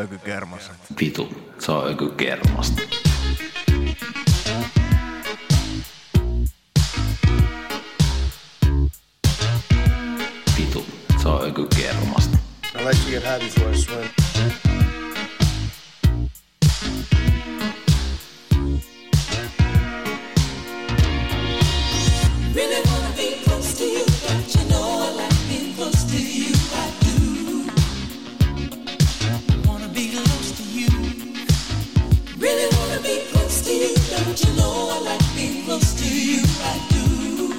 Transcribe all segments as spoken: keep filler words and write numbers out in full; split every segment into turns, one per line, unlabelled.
ökykermaset.
Vitu, se on ökykermasta. Vitu, se on ökykermasta.
I like to get high before I swim.
Really wanna be close to you, but you know I like being close to you. I do. Wanna be close to you. Really wanna be close to you, don't you know I like being close to you. I do.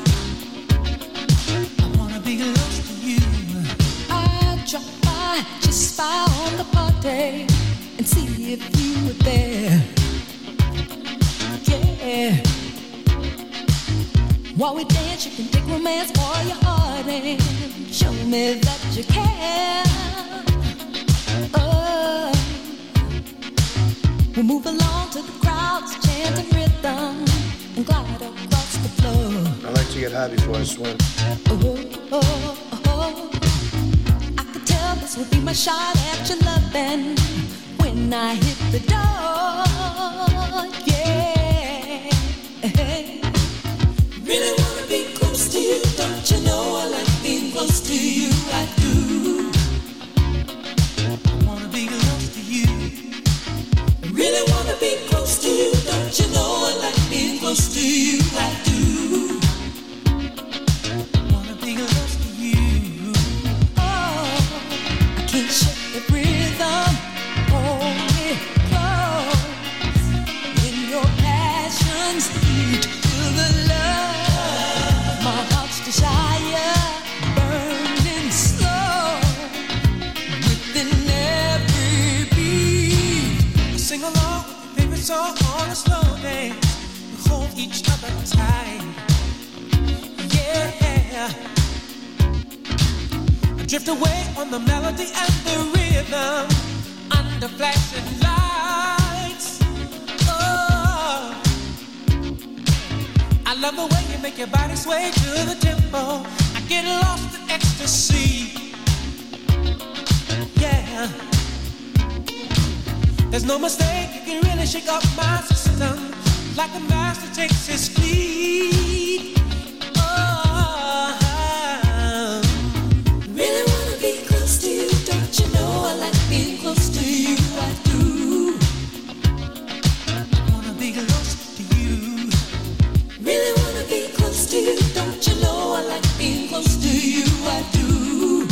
I wanna be close to you. I drop by, just by on the party and see if you were there. Yeah. While we dance, you can take romance for your heart and show me that you care. Oh, we'll move along to the crowd's chanting rhythm and glide across the floor.
I like to get high before I swim.
Oh, oh, oh. I could tell this would be my shot at your loving when I hit the door. Yeah. Really wanna be close to you, don't you know I like being close to you, I do. I wanna be close to you. Really wanna be close to you, don't you know I like being close to you, I do. I wanna be close to you. Oh, I can't shake the rhythm, hold me close. In your passions, heat to the love. My heart's desire, burning slow, within every beat.
Sing along with your favorite song on a slow day. We hold each other tight. Yeah. I drift away on the melody and the rhythm under flashing lights. Oh, I love the way you make your body sway to the tempo. I get lost in ecstasy. Yeah. There's no mistake, you can really shake up my system like a master takes his fleet. Oh,
really wanna be close to you, don't you know I like being close to you, I do.
I wanna be close to you.
Really wanna be close to you, don't you know I like being close to you, I do.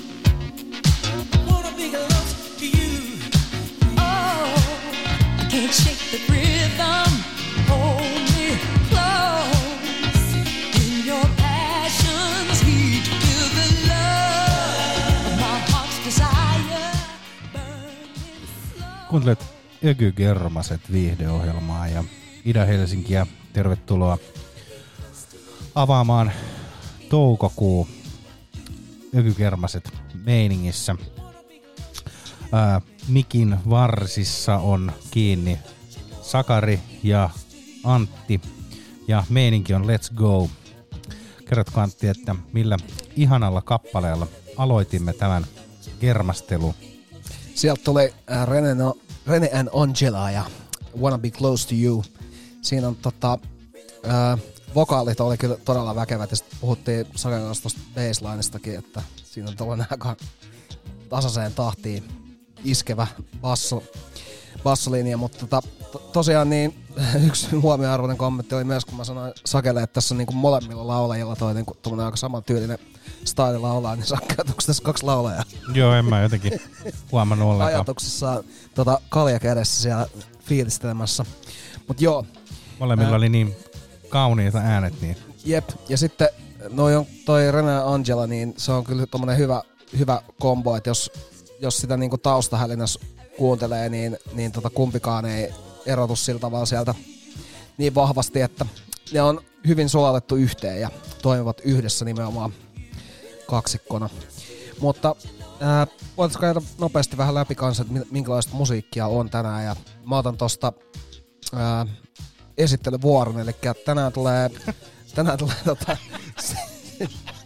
I wanna be close to you.
Oh, I can't shake the rhythm, hold me close. In your passions, heat to the love of my heart's desire, burning slow.
Kuuntelet Ökygermaset viihdeohjelmaa ja Ida-Helsinkiä. Tervetuloa avaamaan toukokuu Ökygermaset meiningissä. Ää, mikin varsissa on kiinni Sakari ja Antti ja meininki on Let's Go. Kerrotko Antti, että millä ihanalla kappaleella aloitimme tämän germastelun?
Sieltä tuli äh, Rene, no, Rene and Angela ja Wanna Be Close to You. Siinä on tota, äh, vokaalit oli kyllä todella väkevät ja sitten puhuttiin Saken kanssa tosta basslinestakin, että siinä on tällainen aika tasaiseen tahtiin iskevä basso, bassolinja, mutta tota, to, tosiaan niin yksi huomioarvoinen kommentti oli myös, kun mä sanoin Sakelle, että tässä on niinku molemmilla laulajilla toi niinku tommonen aika samantyylinen style laulaa, niin Sakke, onko tässä kaksi laulajaa?
Joo, en mä jotenkin huomannut ollenkaan.
Ajatuksessa tota, kalja kädessä siellä fiilistelemässä. Mut joo.
Molemmilla ää, oli niin kauniita äänet. Niin.
Jep, ja sitten noi on toi Rene ja Angela, niin se on kyllä tommonen hyvä, hyvä kombo, että jos, jos sitä niinku taustahälinässä kuuntelee, niin, niin tota kumpikaan ei erotu sillä tavalla sieltä niin vahvasti, että ne on hyvin sulatettu yhteen ja toimivat yhdessä nimenomaan kaksikkona. Mutta ää, voitaisiin käydä nopeasti vähän läpi kanssa, että minkälaista musiikkia on tänään, ja mä otan tosta ää, esittelyvuoron, eli tänään tulee tänään tulee tota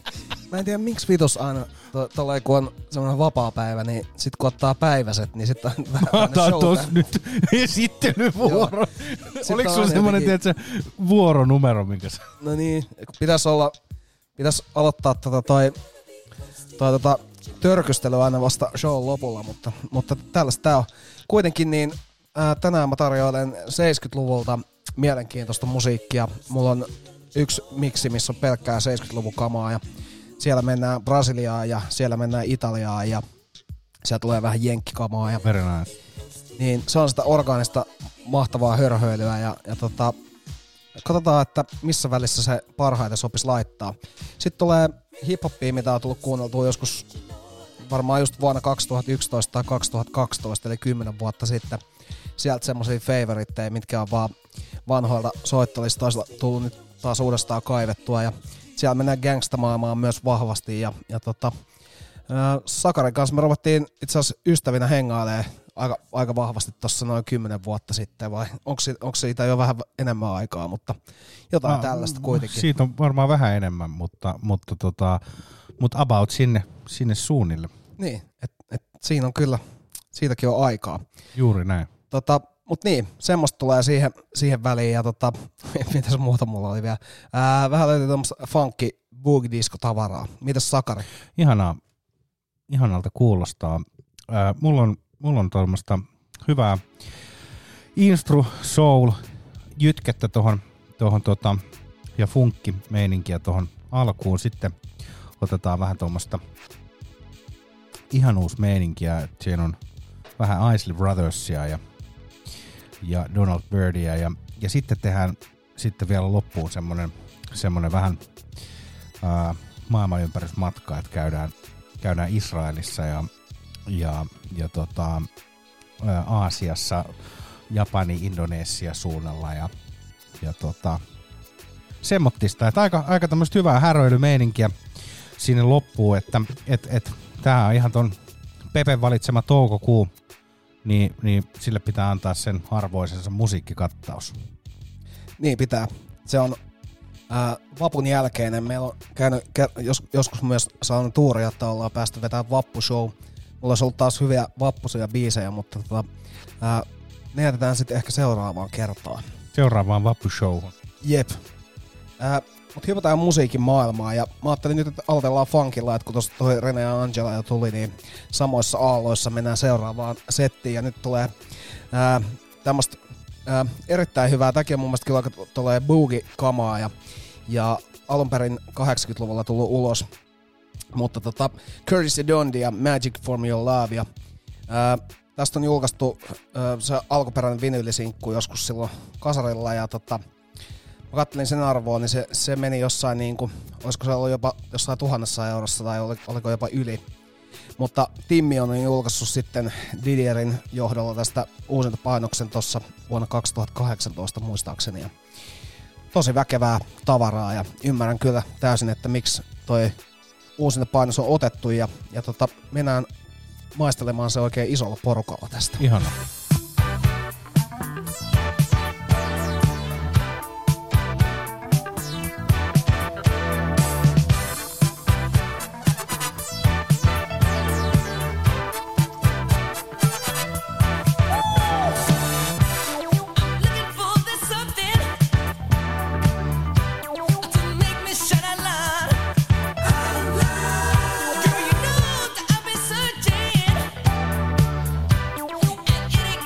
Mä en tiedä miksi vitus aina, tolleen kun on semmoinen vapaa-päivä, niin sit kun ottaa päiväset, niin sit on vähän
show. Tos nyt esittelyvuoro. Oliko sulla semmonen, tiedätkö, vuoronumero, minkä sä...
No niin, pitäis olla, pitäis aloittaa tota toi, toi tota törkystely aina vasta show lopulla, mutta, mutta tällaista tää on. Kuitenkin niin ää, tänään mä tarjoilen seitsemänkymmentäluvulta mielenkiintoista musiikkia. Mulla on yksi miksi, missä on pelkkää seitsemänkymmentäluvun kamaa ja siellä mennään Brasiliaan ja siellä mennään Italiaan ja siellä tulee vähän jenkkikamaa. Ja
very nice.
Niin se on sitä orgaanista mahtavaa hörhöilyä ja, ja tota, katsotaan, että missä välissä se parhaiten sopisi laittaa. Sitten tulee hip-hoppia, mitä on tullut kuunneltua joskus varmaan just vuonna kaksituhattayksitoista tai kaksituhattakaksitoista, eli kymmenen vuotta sitten. Sieltä semmosia favoritteja, mitkä on vaan vanhoilta soittolistoista tullut nyt taas uudestaan kaivettua. Ja siellä mennään gangstamaailmaan myös vahvasti. Ja, ja tota, ää, Sakarin kanssa me ruvettiin itse asiassa ystävinä hengailemaan aika, aika vahvasti tuossa noin kymmenen vuotta sitten. Vai onko, onko siitä jo vähän enemmän aikaa, mutta jotain no, tällaista kuitenkin.
Siitä on varmaan vähän enemmän, mutta, mutta, tota, mutta about sinne, sinne suunnille.
Niin, että et siinä on kyllä, siitäkin on aikaa.
Juuri näin.
Tota, mut niin, semmoista tulee siihen, siihen väliin ja tota, mitäs muuta mulla oli vielä. Ää, vähän löytyy tämmöistä funky boogie disco tavaraa. Mitäs Sakari?
Ihanaa, ihanalta kuulostaa. Ää, mulla on, mulla on tuommoista hyvää instru, soul, jytkettä tohon, tohon tota, ja funkki meininkiä tohon alkuun. Sitten otetaan vähän tuommoista ihanuusmeininkiä, että siinä on vähän Isley Brothersia ja, ja Donald Byrdia ja, ja sitten tehdään sitten vielä loppuun semmonen, semmonen vähän ää, maailmanympärysmatka, että käydään, käydään Israelissa ja, ja, ja tota, ää, Aasiassa, Japani, Indonesia suunnalla ja, ja tota, semmottista, että aika, aika tämmöistä hyvää häröilymeininkiä sinne loppuun, että et, et, tää on ihan ton Pepen valitsema toukokuu, niin, niin sille pitää antaa sen arvoisensa musiikkikattaus.
Niin pitää. Se on ää, vapun jälkeinen. Meillä on käynyt jos, joskus myös saanut tuuria, että ollaan päästy vetämään vappushow. Mulla olisi ollut taas hyviä vappuisia biisejä, mutta tota, ää, ne jätetään sitten ehkä seuraavaan kertaan.
Seuraavaan vappushowhun.
Jep. Ää, Mutta hypätään musiikin maailmaan ja mä ajattelin nyt, että aloitellaan funkilla, että kun tuossa toi Rene ja Angela jo tuli, niin samoissa aalloissa mennään seuraavaan settiin ja nyt tulee ää, tämmöstä ää, erittäin hyvää, tämäkin on mun mielestä kyllä aika tulee boogie-kamaa ja, ja alun perin kahdeksankymmentäluvulla tullut ulos, mutta tota Curtis Dondi ja Magic for Your Love ja ää, tästä on julkaistu ää, se alkuperäinen vinylisinkku joskus silloin kasarilla ja tota mä kattelin sen arvoa, niin se, se meni jossain niinku, olisiko se ollut jopa jossain tuhannessa eurossa tai oliko jopa yli. Mutta Timmi on julkaissut sitten Didierin johdolla tästä uusinta painoksen tuossa vuonna kaksituhattakahdeksantoista muistaakseni. Ja tosi väkevää tavaraa ja ymmärrän kyllä täysin, että miksi toi uusinta painos on otettu ja, ja tota, mennään maistelemaan se oikein isolla porukalla tästä.
Ihanaa.
Girl, you know that I've been searching, and it ain't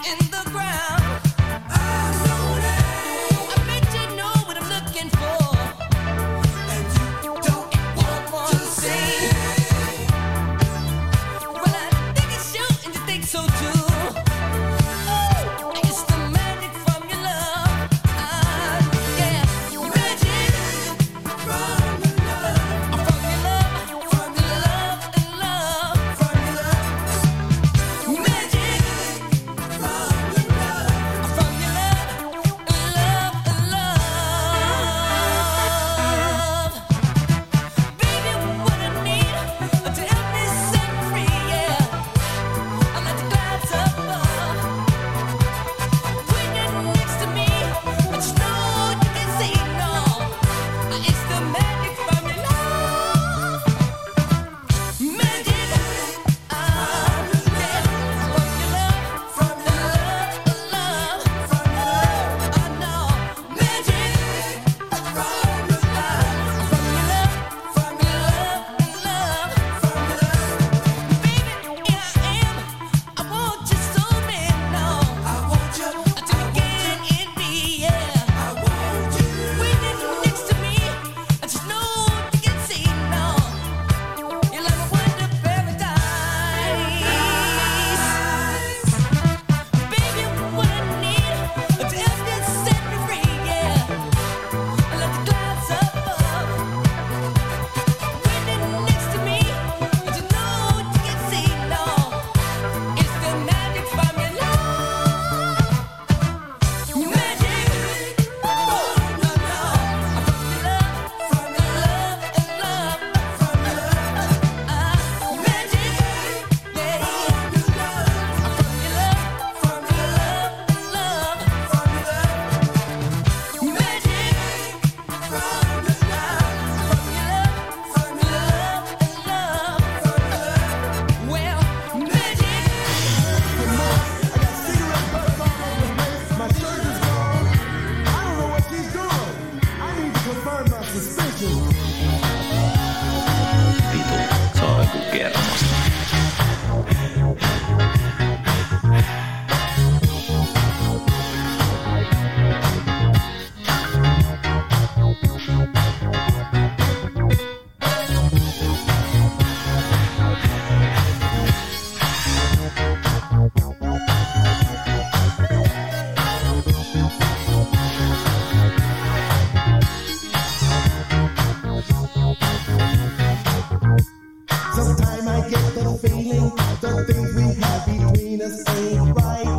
the things we have between us ain't right.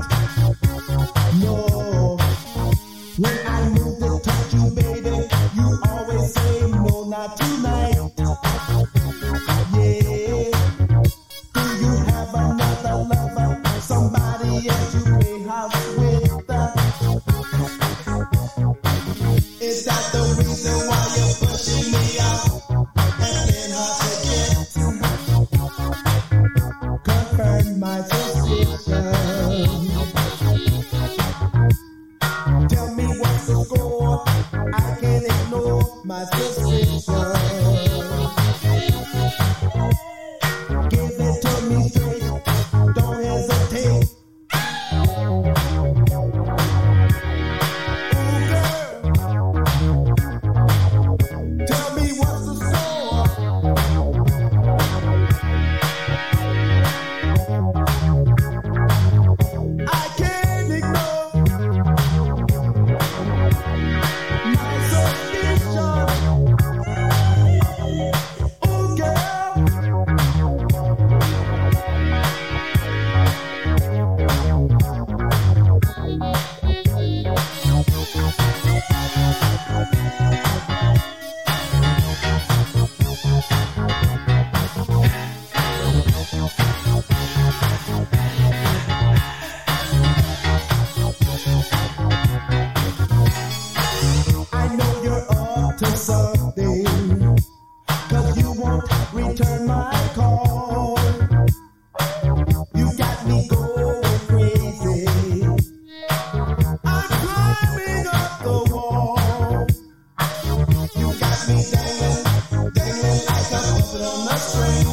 No. When I move to touch you, baby, you always say no, not tonight. Yeah. Do you have another lover? Somebody else you play house with? Is that the reason why you're pushing me out and then hard to get? Confirm my suspicion. Tell me what's the score. I can't ignore my suspicion. Give it to me straight. Don't hesitate. Tell me what's the score. I can't ignore my suspicion. Oh, girl. I know you're up to something, 'cause you won't return my call. You got me going crazy. I'm climbing up the wall. You got me dangling, dangling like a puppet on a string.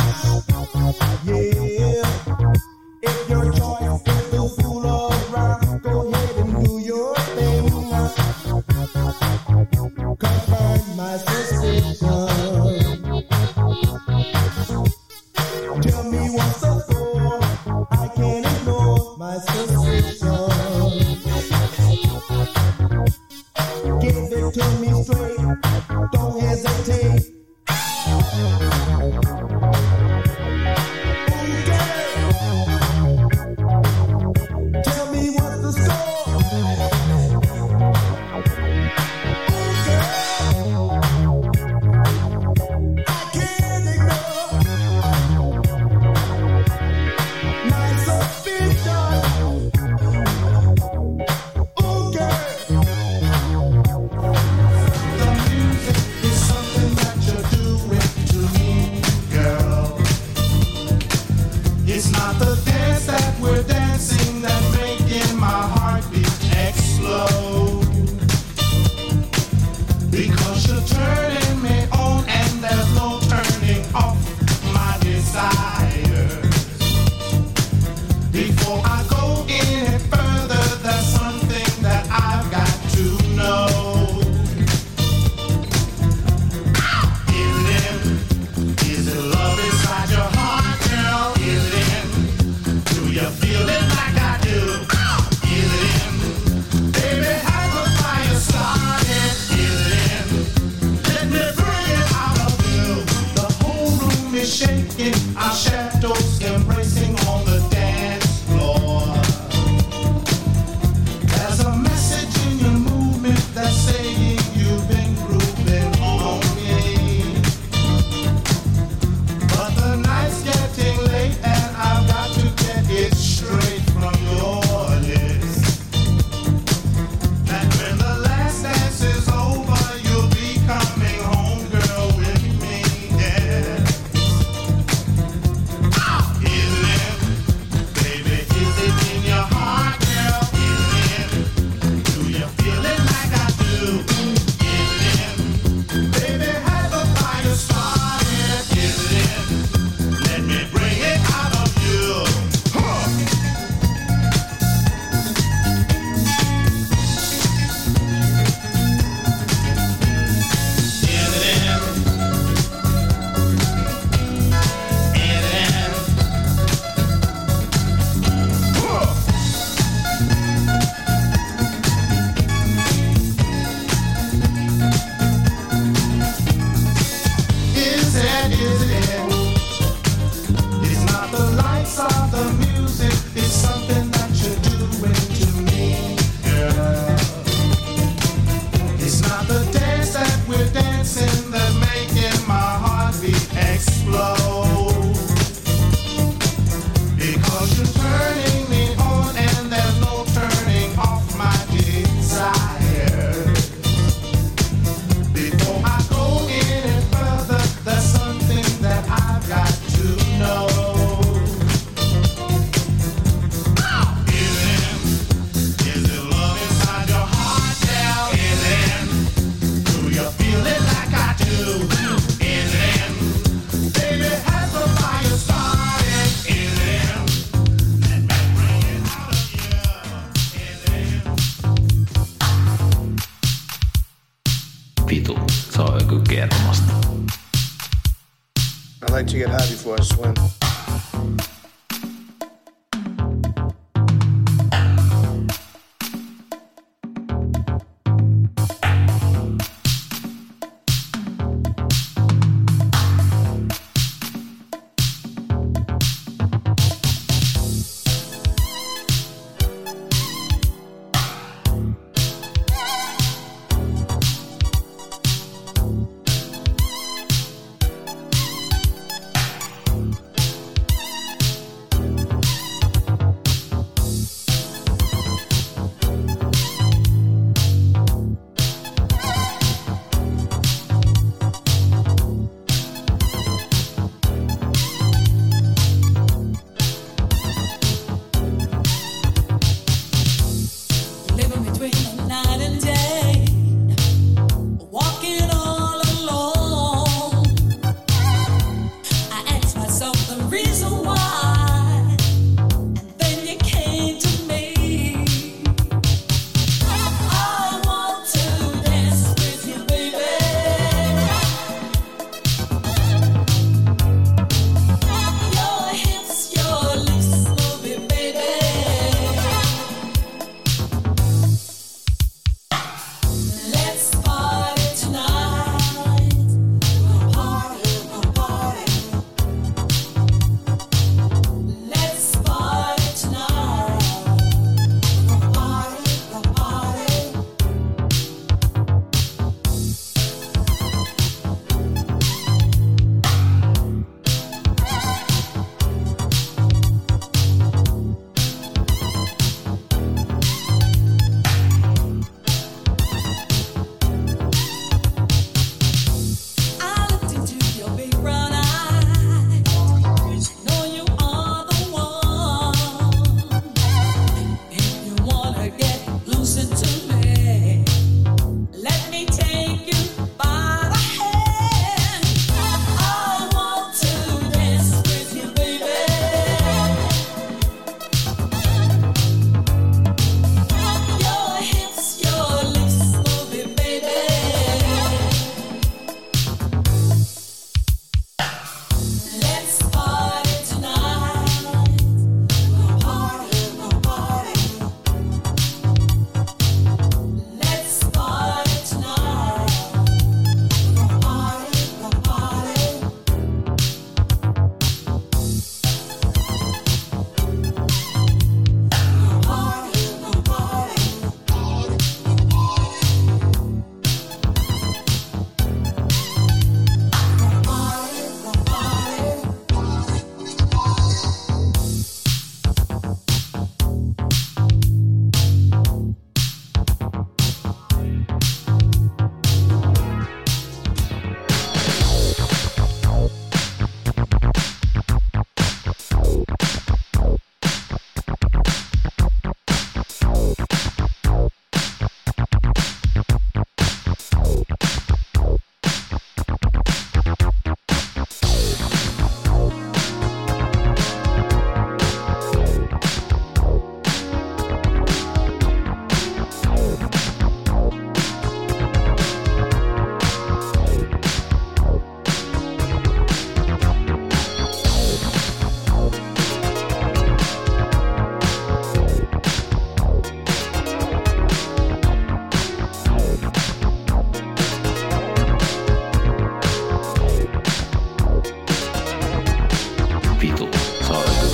Yeah. If your choice is to fool around, go ahead and do your thing. Confirm my suspicion. Tell me what's the score. I can't ignore my suspicion. Give it to me straight. Don't hesitate. Okay. Tell me what's the score. Okay. I can't ignore my suspicion. Okay. The music is something that you're doing to me, girl. It's not the dance that we're dancing that's making my heartbeat explode. Because you're turning me on and there's no turning off my desires. Before I go any further, there's something that I've got to know. Is it in? Is it love inside your heart, girl? Is it in? Do you feel it like I pulse of the music is something that you're doing to me, girl. It's not the dance that we're dancing that's making my heartbeat explode. Because you're turning me on and there's no turning off my desire. Before I go any further, there's something that I've got to know. Is it, is it love inside your heart now? Is it, do you feel it like I do? Is it, baby, has the fire started? Is it, let me bring it out of you? Is it?
Vitu, se on joku kermasta.
I like to get high before I swim.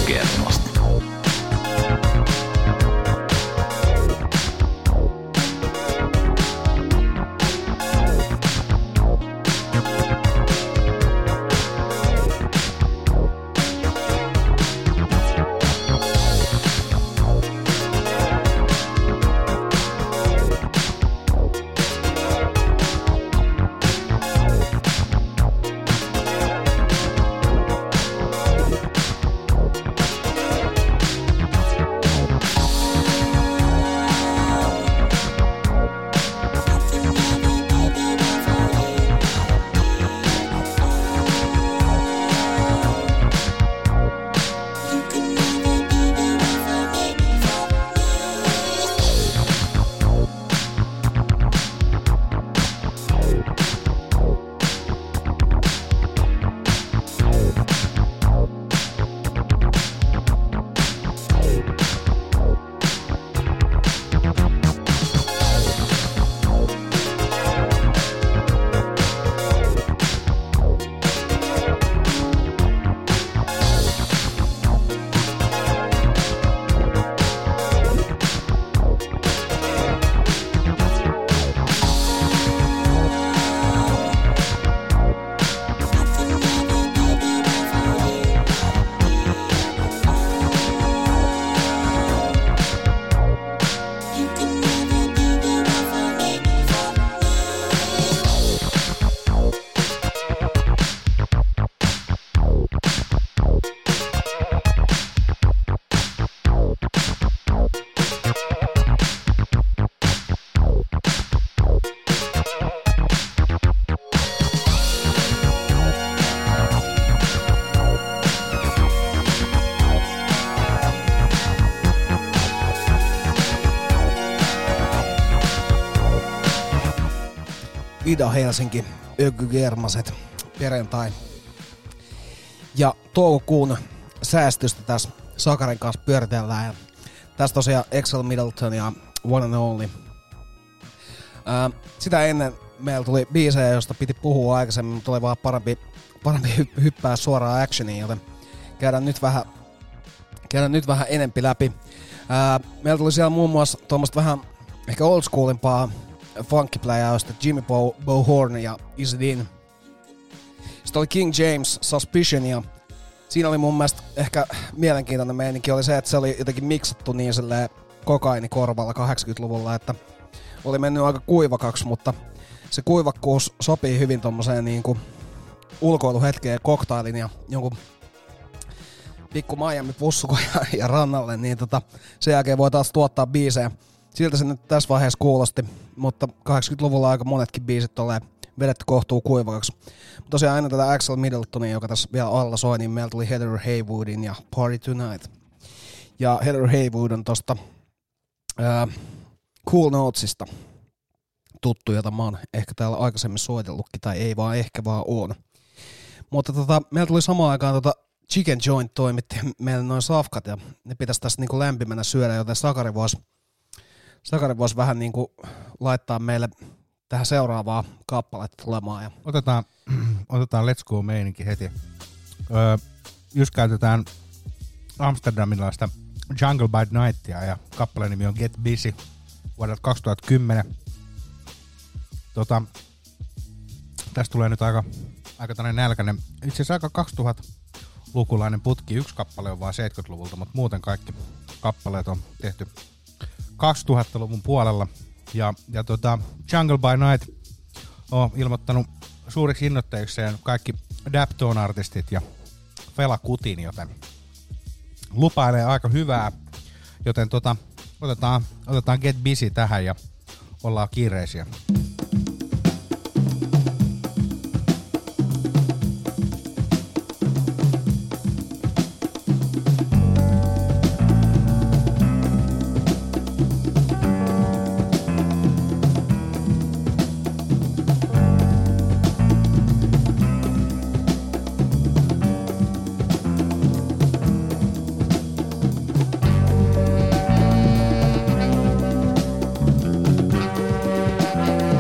kermasta.
Ida Helsinki, Öky Germaset, perjantai. Ja toukokuun säästöstä tässä Sakarin kanssa pyöritellään. Ja tässä tosiaan Axel Middleton ja One and Only. Ää, sitä ennen meillä tuli biisejä, josta piti puhua aikaisemmin, mutta oli vaan parempi, parempi hyppää suoraan actioniin, joten käydään nyt vähän, käydään nyt vähän enempi läpi. Ää, meillä tuli siellä muun muassa tuommoista vähän ehkä old schoolimpaa funky-pläjäystä Jimmy Bo, Bo Horn ja Is It In. Sitten oli King James, Suspicion, ja siinä oli mun mielestä ehkä mielenkiintoinen meininki oli se, että se oli jotenkin miksattu niin silleen kokainikorvalla kahdeksankymmentäluvulla, että oli mennyt aika kuivakaksi, mutta se kuivakkuus sopii hyvin tommoseen niinku ulkoiluhetkeen, koktailin ja jonkun pikku Miami-pussuko ja, ja rannalle, niin tota, sen jälkeen voi taas tuottaa biisejä. Siltä se nyt tässä vaiheessa kuulosti, mutta kahdeksankymmentäluvulla aika monetkin biisit tolleen vedetty kohtuu kuivakaksi. Mutta tosiaan aina tätä Axel Middletonia, joka tässä vielä alla soi, niin meillä tuli Heather Haywoodin ja Party Tonight. Ja Heather Haywood on tosta ää, Cool Notesista tuttu, jota mä oon ehkä täällä aikaisemmin soitellutkin, tai ei vaan ehkä vaan on. Mutta tota, meillä tuli samaan aikaan tota Chicken Joint toimitti meille noin safkat, ja ne pitäisi tässä niinku lämpimänä syödä, joten Sakari voisi Sakari vois vähän niinku laittaa meille tähän seuraavaa kappaletta tulemaan. Ja
Otetaan, otetaan Let's Go-meininki heti. Öö, just käytetään amsterdamilaista Jungle by Nightia ja kappaleen nimi on Get Busy vuodelta kaksituhattakymmenen. Tota, tästä tulee nyt aika, aika tällainen nälkäinen, itse asiassa aika kaksituhattalukulainen putki. Yksi kappale on vaan seitsemänkymmentäluvulta, mutta muuten kaikki kappaleet on tehty kaksituhattaluvun puolella. Ja, ja tota, Jungle by Night on ilmoittanut suuriksi innoittajikseen kaikki Daptone-artistit ja Fela Kutin, joten lupailee aika hyvää. Joten tota, otetaan, otetaan Get Busy tähän ja ollaan kiireisiä.
Get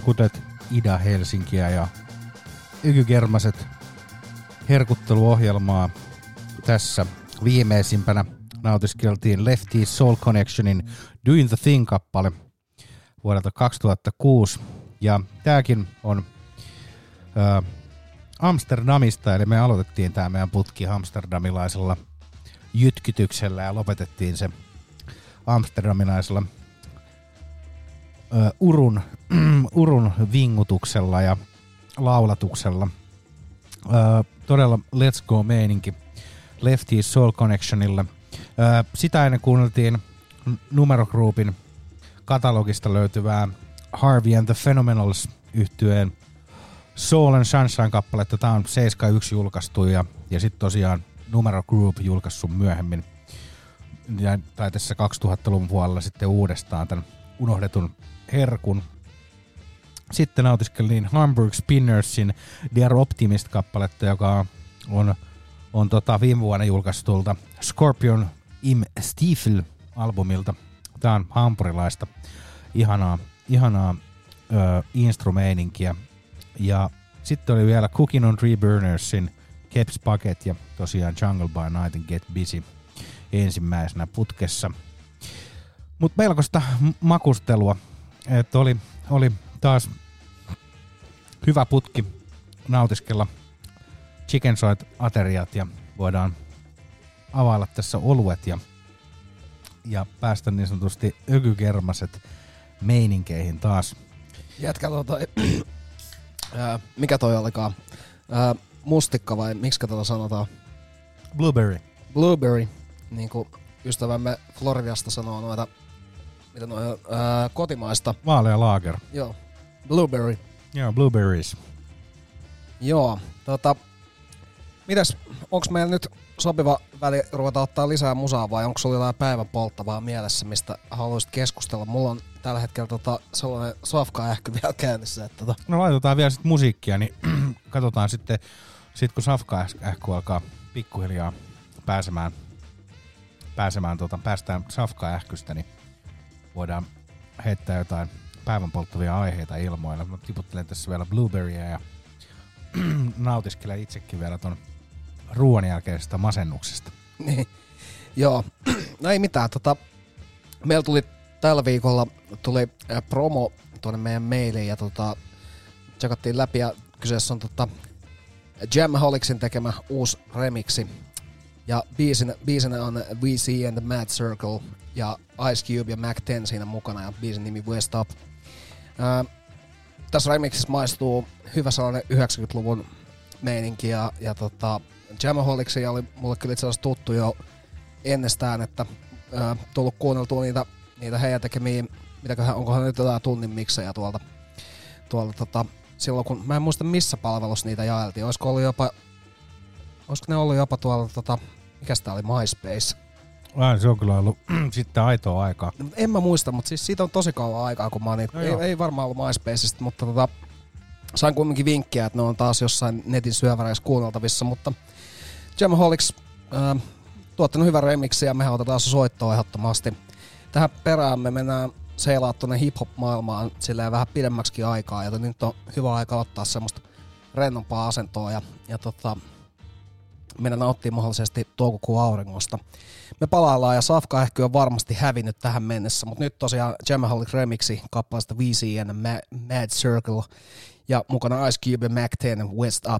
herkutet Ida-Helsinkiä ja Ykygermaset herkutteluohjelmaa. Tässä viimeisimpänä nautiskeltiin Lefty Soul Connectionin Doing the Thing-kappale vuodelta kaksituhattakuusi. Ja tääkin on ää, Amsterdamista, eli me aloitettiin tää meidän putki amsterdamilaisella jytkytyksellä ja lopetettiin se amsterdamilaisella ää, urun, urun vingutuksella ja laulatuksella. Ää, todella Let's Go-meininki Lefty Soul Connectionilla. Ää, sitä ennen kuunneltiin Numero Groupin katalogista löytyvää Harvey and the Phenomenals -yhtyeen Soul and Sunshine-kappaletta. Tää on seitsemänkymmentäyksi julkaistu ja, ja sitten tosiaan Numero Group julkaissut myöhemmin. Ja, tai tässä kaksituhattaluvun puolella sitten uudestaan tämän unohdetun herkun. Sitten nautiskelin Hamburg Spinnersin Dear Optimist-kappaletta, joka on, on tota viime vuonna julkaistulta Scorpion im Stiefel-albumilta. Tää on hampurilaista ihanaa, ihanaa ö, instrumeininkiä. Ja sitten oli vielä Cooking on Tree Burnersin Keps Bucket ja tosiaan Jungle by Night and Get Busy ensimmäisenä putkessa. Mut melkoista makustelua, että oli, oli taas hyvä putki nautiskella Chicken Soit-ateriat ja voidaan availla tässä oluet ja, ja päästä niin sanotusti ökykermaset meininkeihin taas.
Jätkä tota, ää, mikä toi olikaan? Ää, mustikka vai miksikä tätä sanotaan?
Blueberry.
Blueberry, niin kuin ystävämme Floridasta sanoo noita, mitä noita ää, kotimaista.
Vaalea lager.
Joo, blueberry.
Joo, blueberries.
Joo, tota, mitäs, onks meillä nyt sopiva väli ruveta ottaa lisää musaa vai onko sulla jotain päivän polttavaa mielessä, mistä haluaisit keskustella? Mulla on tällä hetkellä tota, sellainen safka-ähky vielä käynnissä. Että tota.
No laitetaan vielä sit musiikkia, niin katsotaan sitten, sit kun safka-ähky alkaa pikkuhiljaa pääsemään, pääsemään tota, päästään safka-ähkystä, niin voidaan heittää jotain päivän polttavia aiheita ilmoille. Mä tiputtelen tässä vielä blueberryä ja nautiskelen itsekin vielä ton ruoan jälkeisestä masennuksesta.
Niin, joo. No ei mitään. Tota, meillä tuli tällä viikolla tuli äh, promo tuonne meidän mailiin ja tota, tsekattiin läpi ja kyseessä on tota, Jamholicsin tekemä uusi remixi. Ja biisinä, biisinä on V C and the Mad Circle ja Ice Cube ja Mac ten siinä mukana ja biisin nimi West Up. Äh, tässä remixissä maistuu hyvä sellainen yhdeksänkymmentäluvun meininki ja, ja tota, Jamholicsia oli mulle kyllä itse asiassa tuttu jo ennestään, että ää, tullut kuunneltua niitä, niitä heidän tekemiä, mitäköhän, onkohan nyt jotain tunnin miksejä tuolta, tuolta tota, silloin kun, mä en muista missä palvelussa niitä jaeltiin, olisiko ollut jopa, olisiko ne ollut jopa tuolla, tota, mikäs tää oli, MySpace?
Ai, se on kyllä ollut sitten aitoa aikaa.
No, en mä muista, mutta siis siitä on tosi kauan aikaa, kun mä oon niitä, no ei, ei varmaan ollut MySpaceista, mutta tota, sain kuitenkin vinkkiä, että ne on taas jossain netin syöväreissä kuunneltavissa, mutta Jamholics äh, tuottanut hyvän remixin ja mehän otetaan se soittoa ehdottomasti. Tähän perään me mennään seilaa tuonne hip-hop-maailmaan silleen vähän pidemmäksikin aikaa, joten nyt on hyvä aika ottaa semmoista rennompaa asentoa ja, ja tota, mennä nauttii mahdollisesti toukokuun auringosta. Me palaillaan ja safka-ähky on varmasti hävinnyt tähän mennessä, mutta nyt tosiaan Jamholic remixi kappaleesta V C and the Mad Circle ja mukana Ice Cube ja Mac ten West Up.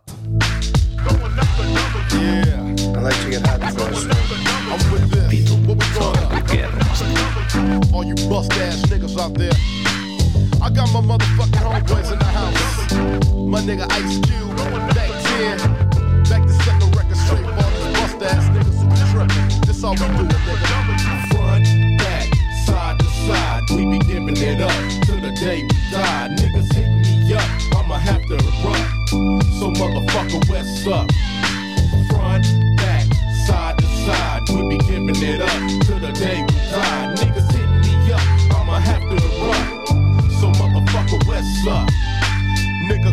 Yeah, I like to get high before I swim.
I'm with this. Vitu soikermasta.
All you bust ass niggas out there. I got my motherfucking homeboys in the house. My nigga Ice Cube, back ten. Back to set the record straight for all these bust ass niggas who be trippin'. This all we do, nigga. Front, back, side to side. We be giving it up till the day we die. Niggas hit me up, I'ma have to run. So motherfucker, what's up? Front, back, side to side. We be giving it up till the day we die. Niggas hit me up, I'ma have to run. So motherfucker, what's up? Nigga, clear the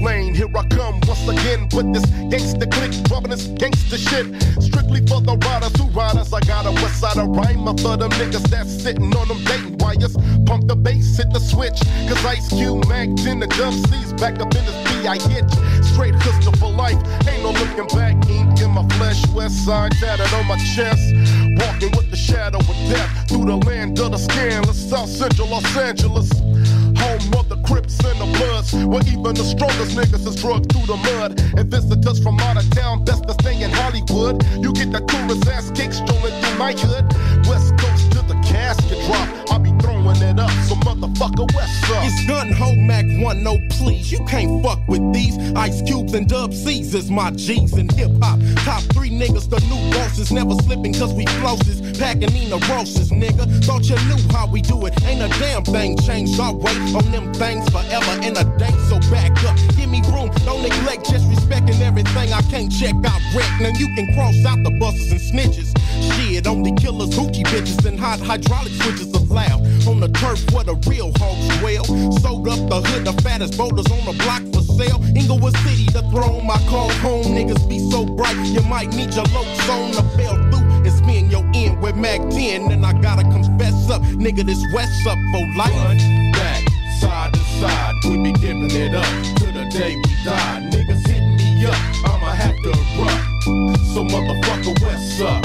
lane. Here I come once again with this gangster click, dropping this gangster shit. Strictly for the riders who riders. I got a west side of rhyme. I thought them niggas that's sitting on them dating wires. Pump the bass, hit the switch. Cause Ice Cube, Mac ten, the Dub C's back up in this B I hitch. Straight hustler for life. Ain't no looking back. Ink in my flesh. West side tatted on my chest. Walking with the shadow of death through the land of the scandalous. South Central Los Angeles. Home of the Crips and the Bloods, where even the strongest niggas is drugged through the mud. And visitors from out of town, best to stay in Hollywood. You get that tourist ass kick strolling through my hood. West Coast to the casket drop, I be throwing it up, so motherfucker West up.
It's Gun Ho Mac one, no please. You can't fuck with these. Ice Cubes and Dub C's is my G's in hip hop. Top three niggas, the new bosses, never slipping cause we flosses. Packing in the roses, nigga. Thought you knew how we do it. Ain't a damn thing changed our way on them things forever in a day, so back up. Give me room, don't neglect, just respecting everything. I can't check out wreck. Now you can cross out the buses and snitches. Shit, only killers, hoochie bitches, and hot hydraulic switches allowed. On the turf where the real hogs dwell. Sold up the hood, the fattest boulders on the block for sale. Inglewood City, the throne, my call home. Niggas be so bright, you might need your lokes on the bell through. It's me and your end with Mac ten, and I gotta confess up, nigga, this West up for life. Run back, side to side, we be giving it up to the day we die. Niggas hit me up, I'ma have to run. So motherfucker West up.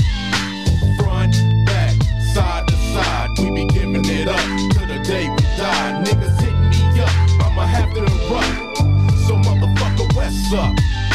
Front, back, side to side, we be giving it up to the day we die. Niggas hit me up, I'ma have to run. So motherfucker West up.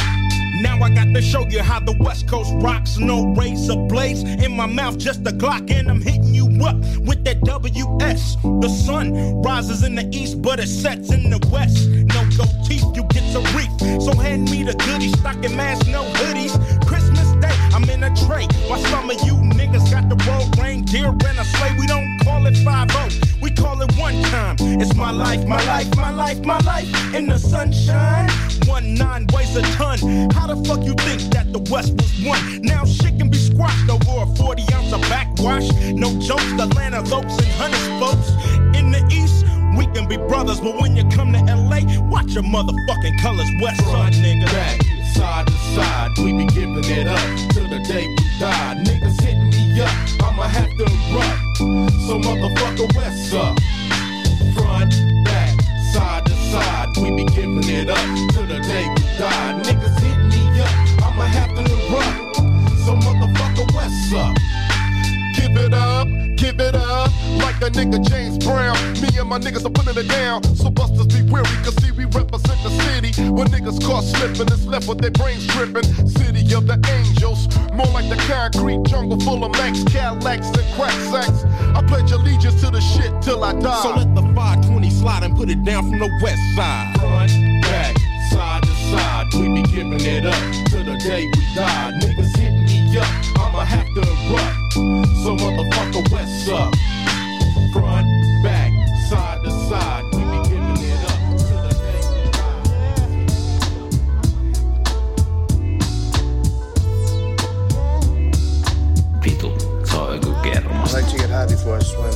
Now I got to show you how the West Coast rocks. No razor blades in my mouth, just a Glock, and I'm hitting you up with that W S. The sun rises in the east, but it sets in the west. No gold teeth, you get a reef. So hand me the goodies, stocking mask, no hoodies. Christmas Day, I'm in a tray. While some of you niggas got the road reindeer and a sleigh. We don't call it five oh, we call it one time. It's my life, my life, my life, my life in the sunshine. One nine weighs a ton. How the fuck you think that the West was won? Now shit can be squashed over a forty ounce of backwash. No jokes, the land of oaks and hundred spokes. In the East, we can be brothers, but when you come to L A, watch your motherfucking colors. West side, nigga. Back, side to side, we be giving it up till the day we die. Niggas hit me up, I'ma have to run. So motherfucker West up. Front, back, side to side, we be giving it up till the day we die. Niggas hit me up, I'ma have to run. So motherfucker West up. Give it up, give it up, like a nigga James Brown. Me and my niggas are putting it down, so busters be weary, cause see we represent the city. When niggas caught slipping, it's left with their brains tripping. City of the angels, more like the concrete jungle full of Max, Cadillacs, and crack sacks. I pledge allegiance to the shit till I die. So let the five twenty slide and put it down from the west side. Front, back, side to side, we be giving it up till the day we die. Niggas hit me up, I'ma have to run. So motherfucker West up. Front, back, side to side, we be giving it up to the day we die.
Vitu, se on joku kerma.
I like to get high before I swim.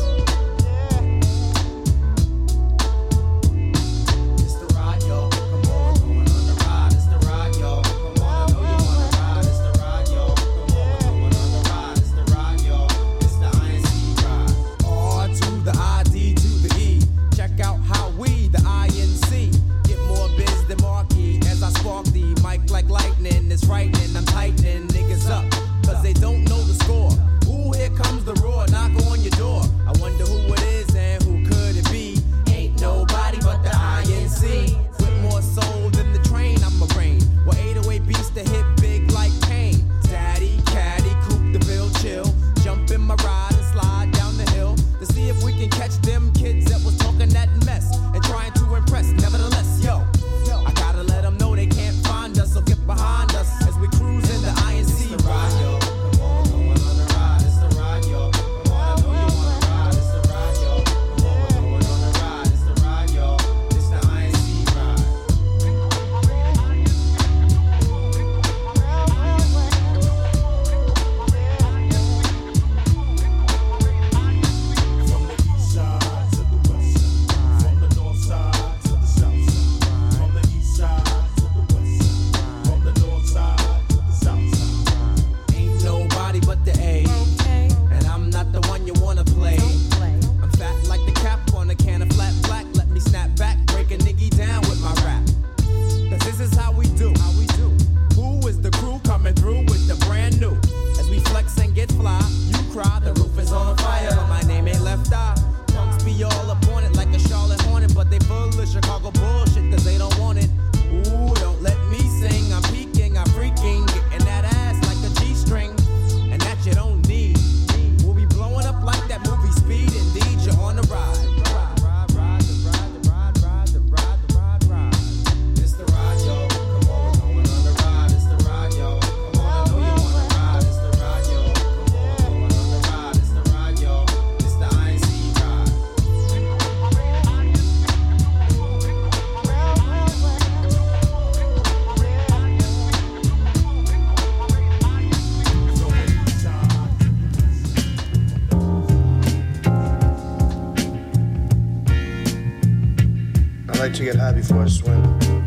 to get high before I swim.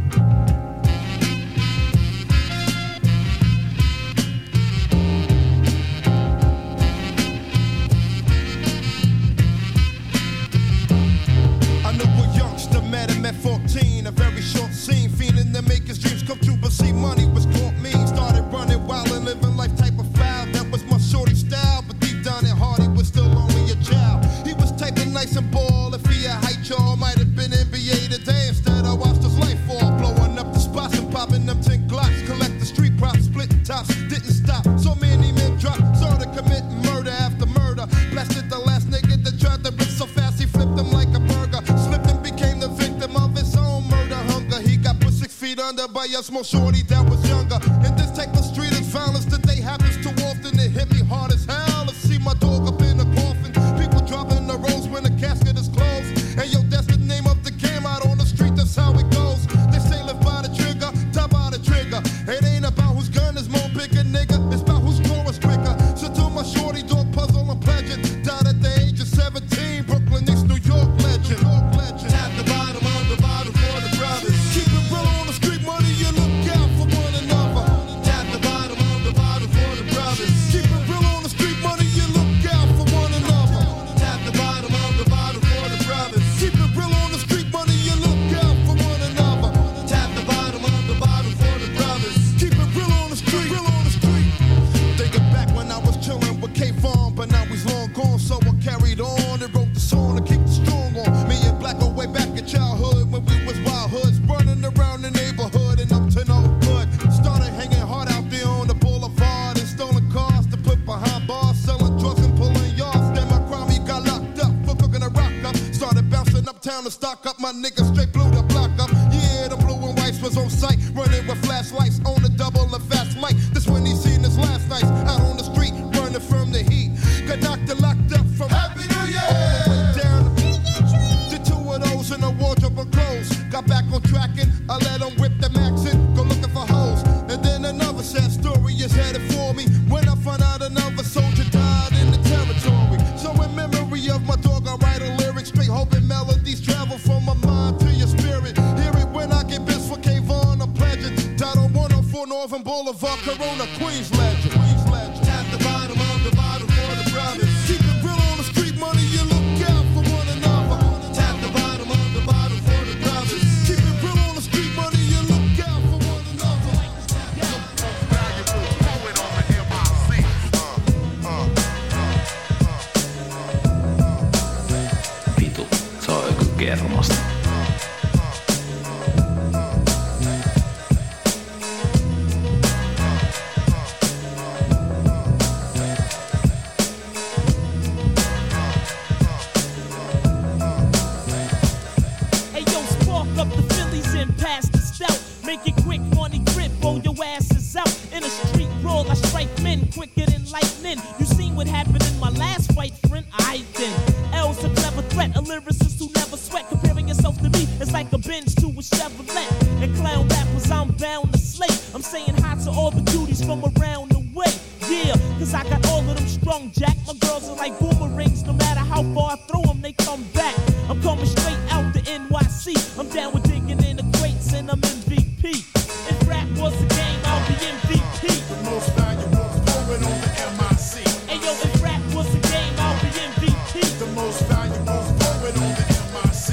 I know a youngster met him at fourteen, a very short scene, feeling to make his dreams come true, but see money was caught mean. Started running wild and living life type of foul. That was my shorty style, but deep down at heart he was still only a child. He was typing nice and ball. If he had height, y'all might have been N B A today. Instead I watched his life fall, blowing up the spots and popping them ten glocks. Collect the street props, split tops, didn't stop. So many men dropped, started committing murder after murder. Blasted the last nigga that tried to rip so fast he flipped him like a burger. Slipped and became the victim of his own murder hunger. He got put six feet under by a small shorty that was younger. In this type of street is violence today happens too often. It hit me hard as hell to see my dog up in a coffin. People dropping the rolls when the casket is closed. And yo, that's the name of the game out on the street, that's how it goes. They say live by the trigger, die by the trigger. It ain't about whose gun is more bigger, nigga. It's about whose draw is quicker. So to my shorty dog puzzle and pledging. Died at the age of seventeen, Brooklyn Knicks, New York legend. New York legend. At the bottom of the bottom for the brothers. Keep it real on the street, money, you look out for one another. At the bottom of the bottom for the brothers. Keep it real on the street, money, you look out for one another. At the bottom of the bottom for the brothers. Keep it real on the street, money, you look out for one another. At the bottom of the bottom for the brothers. Keep it real on the street, real on the street. Thinking back when I was chilling with K-Farm, but now he's long gone, so I carried on and wrote the song to keep the strong on. Me and Black go way back in childhood when we was wild hoods, running around the neighborhood and up to no good. Started hanging hard out there on the boulevard and stolen cars to put behind bars, selling drugs and pulling yards. Then my crime, he got locked up for cooking a rock up. Started bouncing uptown to stock up, my niggas straight blew the block up. Yeah, the blue and whites was on sight, running with flashlights on the double and fast mic. This when he seen his last nights out on the street, running from the heat. Got knocked and locked up from Happy New Year all the way down to two of those in a wardrobe of clothes. Got back on track and I let him whip the max in, go looking for hoes. And then another sad story is headed for me when I find out another soldier died in the territory. So in memory of my dog, I write a lyric, straight hoping melodies travel from my mind to your spirit. Hear it when I get bits for K-Von, I'm pledging. Died on one oh four Northern Boulevard, Corona, Queens legend. Queens legend. At the bottom of the bottom for the brothers. Keep it real on the street, money, you look out for one another. At the bottom of the bottom for the brothers. Keep it real on the street, money, you look out for one another.
Vitu, se on joku kermasta.
Hey yo, spark up the Phillies and pass the stout. Make it quick, money grip, roll your asses out. In a street brawl, I strike men quicker than lightning. You seen what happened in my last fight, friend? I then. L's a clever threat, a lyricist who never sweat. Comparing yourself to me, it's like a Benz to a Chevrolet. And clown rappers, I'm bound to slay. I'm saying hi to all the cuties from around the way. Yeah, cause I got all of them strong, Jack. My girls are like boomerangs, no matter how far I throw them, they come back. I'm coming straight out the N Y C. I'm down with digging in the crates and I'm M V P. If rap was a game, I'll be M V P.
The most valuable poet on the M I C.
Hey yo, if rap was a game, I'll be M V P.
The most valuable poet on the M I C.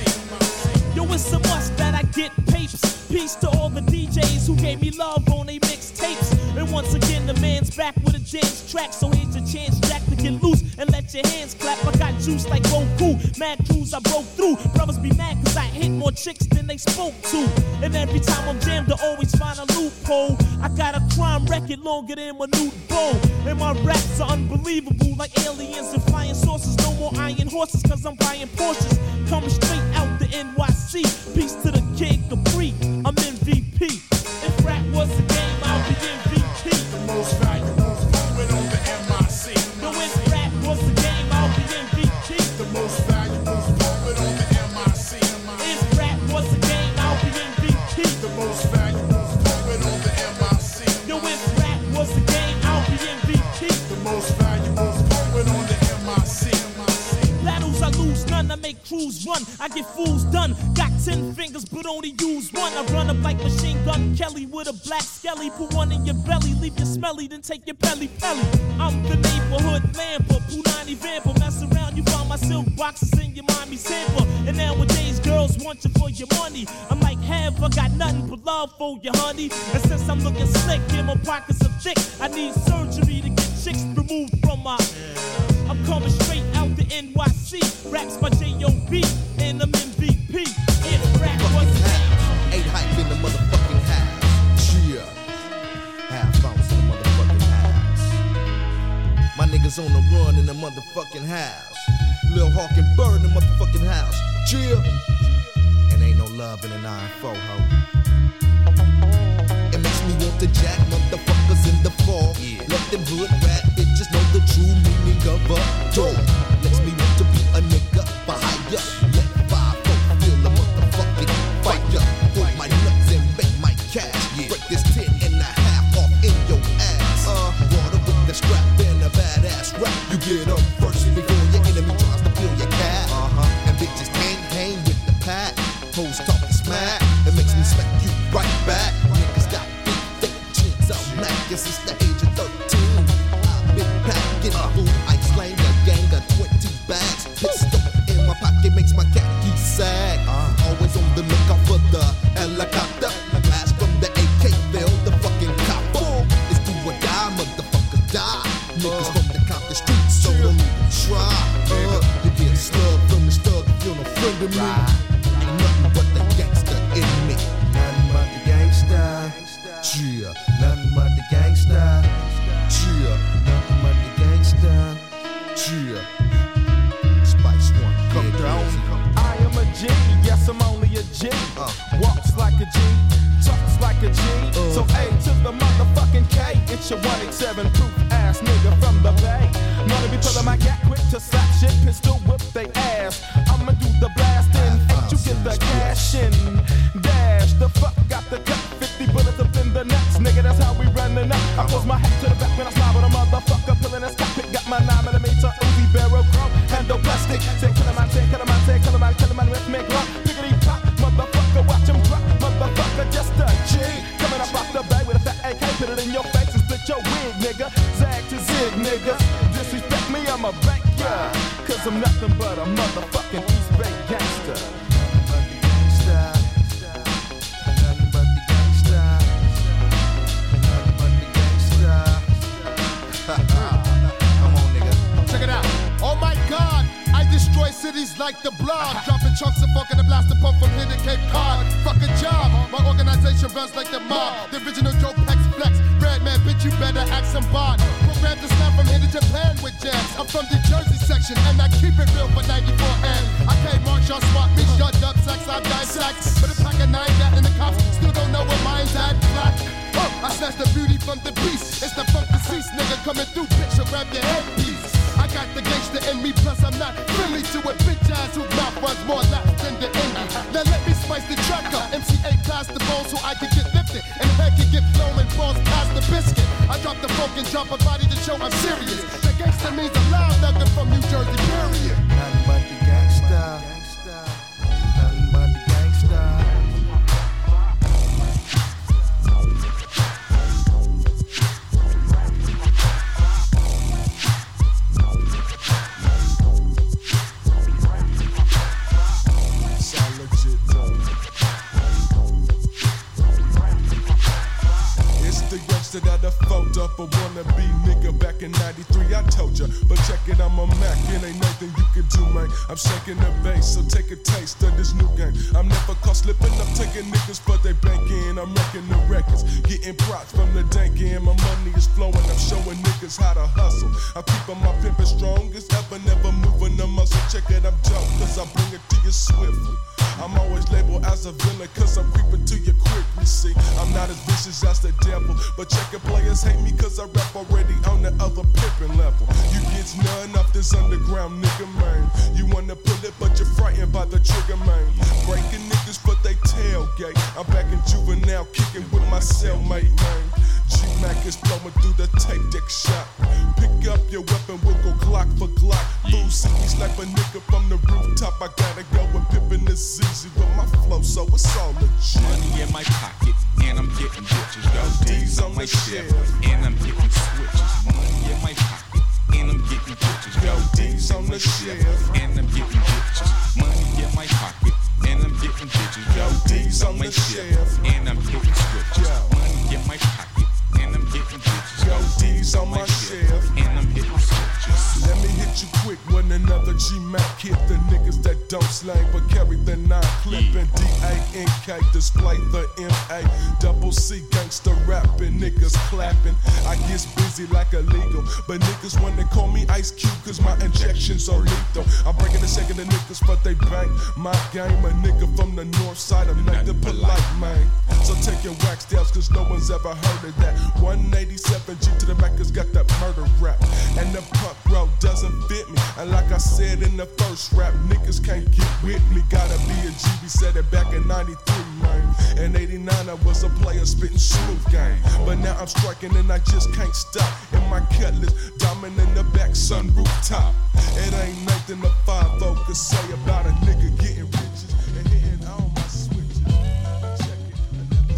Yo, it's a must that I get papes. Peace to all the D Js who gave me love on they mixtapes. And once again, the man's back with a dance track. So here's your chance, Jack, to get loose and let your hands clap. I got juice like Goku, mad crews I broke through. Brothers be mad cause I hit more chicks than they spoke to. And every time I'm jammed, I always find a loophole. I got a crime record longer than my nude bowl. And my raps are unbelievable, like aliens and flying saucers. No more iron horses cause I'm buying Porsches. Coming straight out the N Y C. Peace to the Kid Capri, I'm M V P. If rap was a game, I'll be M V P.
The most valuable poet on the M I C.
No, if rap was a game, I'll be M V P.
The most valuable poet on the M I C.
If rap was a game, I'll be M V P.
The most valuable poet on the M I C.
Yo, if rap was a game, I'll be M V P.
The most valuable poet on the M I C.
Battles I lose none, I make crews run. I get fools done. Got ten fingers, but only use one. I run up like Machine Gun Kelly with a black skelly. Put one in your belly, leave you smelly, then take your belly belly. I'm the neighborhood lamper, Punani vamper. Mess around, you find my silk boxes in your mommy's hamper. And nowadays, girls want you for your money. I'm like, have I got nothing but love for you, honey? And since I'm looking slick and my pockets are thick, I need surgery to get chicks removed from my. I'm coming straight out the N Y C. Raps my J O B and I'm M V P. If rap was
eight hype in the motherfucking house. Yeah. Half bounce in the motherfucking house. My niggas on the run in the motherfucking house. Lil Hawk and Bird in the motherfucking house. Chill. And ain't no love in a nine four, ho. It makes me want to jack motherfuckers in the fall. Yeah. Let them hood rat bitches know the true meaning of a dog. Makes me want to be a nigga behind ya. Let five folk feel the motherfucking fire. Hold my nuts and make my cash. Yeah. Break this ten and a half off in your ass. Uh, water with the strap and a badass rap. You get up first before your enemy tries to fill your cap. Uh-huh. And bitches can't hang with the pack. Hoes talking smack. It makes me smack you right back. Niggas got big thick chins out mackin' since the age of thirteen. I've been packing uh. food. I slang a gang of twenty bags. Pistol in my pocket makes my khaki sag. Uh. Always on the lookout for the helicopter. Blast from the A K, fill the fucking copper. It's do or die, motherfucker die. Niggas from the Compton streets, so don't even try. Uh, you get slugged from the stug if you're no friend of me. Ain't nothing but the gangster in me. Nothing but the gangster. Cheer. Nothing but the gangster. Cheer. Nothing but the gangster. Cheer. Spice One. Come down.
I am a G. Yes, I'm only a G. Uh. Walks like a G. Talks like a G. Uh. So A to the motherfucking K. It's your one eighty-seven proof ass nigga from the Bay. Gonna be pulling my gat quick to slap shit. Pistol whip they ass. I'ma do the blasting. Ain't you get the cash in. Dash the fuck got the cut. fifty bullets up in the nuts. Nigga, that's how we running up. I pose my hat to the back when I slide with a motherfucker. Pulling his cockpit. Got my nine millimeter Uzi barrel chrome. Handle plastic. Say kill him, I say kill him, I say kill him, I kill him, I with me grunt. Piggity pop. Motherfucker, watch him drop. Motherfucker, just a G. Coming up off the bay with a fat A K. Put it in your face and split your wig, nigga. Zag to zig, nigga. Disrespect me, I'm a bank, yeah. Cause I'm nothing but a motherfucking East Bay gangster. Nothing but the gangster. Nothing but the gangster. Nothing but the gangster. Come on, nigga.
Check it out. Oh my God, I destroy cities like the blob. Dropping chunks of funk in the blaster pump from here to Cape Cod. Fuck a job, my organization runs like the mob. The original Joe Pex Flex. Red man, bitch, you better act some bod. Programmed to snap from here to Japan with jams. I'm from the Jersey section and I keep it real for ninety-four and I can't march, y'all swap me, shut up, sex, I die sex. But a pack of nine got in the cops, still don't know where mine's at. Black. Oh, I snatched the beauty from the beast. It's the funk deceased nigga coming through, bitch, so grab your headpiece. I got the gangster in me, plus I'm not friendly to a bitch ass whose mouth runs more laps than the indie. Now let me spice the track up. M C A past the bone so I can get lifted and head can get flown and falls past the biscuit. I drop the funk and drop a body to show I'm serious. The gangster means a loud nugget from New Jersey, period.
Nothing but the gangster. Nothing but the gangster.
That I fucked up a wannabe nigga back in ninety-three. I told ya, but check it, I'm a Mac, and ain't nothing you can do, man. I'm shaking the bass, so take a taste of this new game. I'm never caught slipping up, taking niggas, but they banking. I'm wrecking the records, getting props from the dank end. My money is flowing, I'm showing niggas how to hustle. I'm keeping my pimpin' strong as ever, never moving the muscle. Check it, I'm dope, cause I bring it to you swiftly. I'm always labeled as a villain, cause I'm creeping to you quickly, see. I'm not as vicious as the devil, but check it, players hate me cause I rap already on the other pimpin' level. You get none off this underground nigga, man. You wanna pull it, but you're frightened by the trigger, man. Breaking niggas, but they tailgate. I'm back in juvenile, kicking with my cellmate, man. G-Mac is flowing through the tape deck shop. Pick up your weapon, we'll go Glock for Glock. Fool see me snipe a nigga from the rooftop. I gotta go and pippin' this easy with my flow, so it's all legit.
Money in my pocket, and I'm getting bitches. Yo, D's on my ship, and I'm getting switches. Money in my pocket, and I'm getting bitches. Yo, D's on the ship, and I'm getting bitches. Money in my pocket, and I'm getting bitches. Yo, D's on my ship, and I'm getting switches. Money in my pocket, and I'm getting bitches.
Yo, D's on my ship,
and I'm hitting switches.
Let me hit you quick when another G-Mac hit the niggas that don't slang but carry the nine clipping. D A N K display the M A double C gangster rapping, niggas clapping. I get busy like illegal, but niggas when they call me Ice Cube cause my injections are lethal. I'm breaking the second of niggas but they bang my game. A nigga from the north side, I'm not the polite man. So take your wax downs cause no one's ever heard of that. one eighty-seven G to the Mac has got that murder rap. And the punk road doesn't fit me. And like I said in the first rap, niggas can't get with me. Gotta be a G B, said it back in ninety-three, man. In eighty-nine I was a player spitting smooth game. But now I'm striking and I just can't stop. In my cutlass, diamond in the back, sun rooftop. It ain't nothing a five oh could say about a nigga getting riches and hitting all my switches. Check it, I never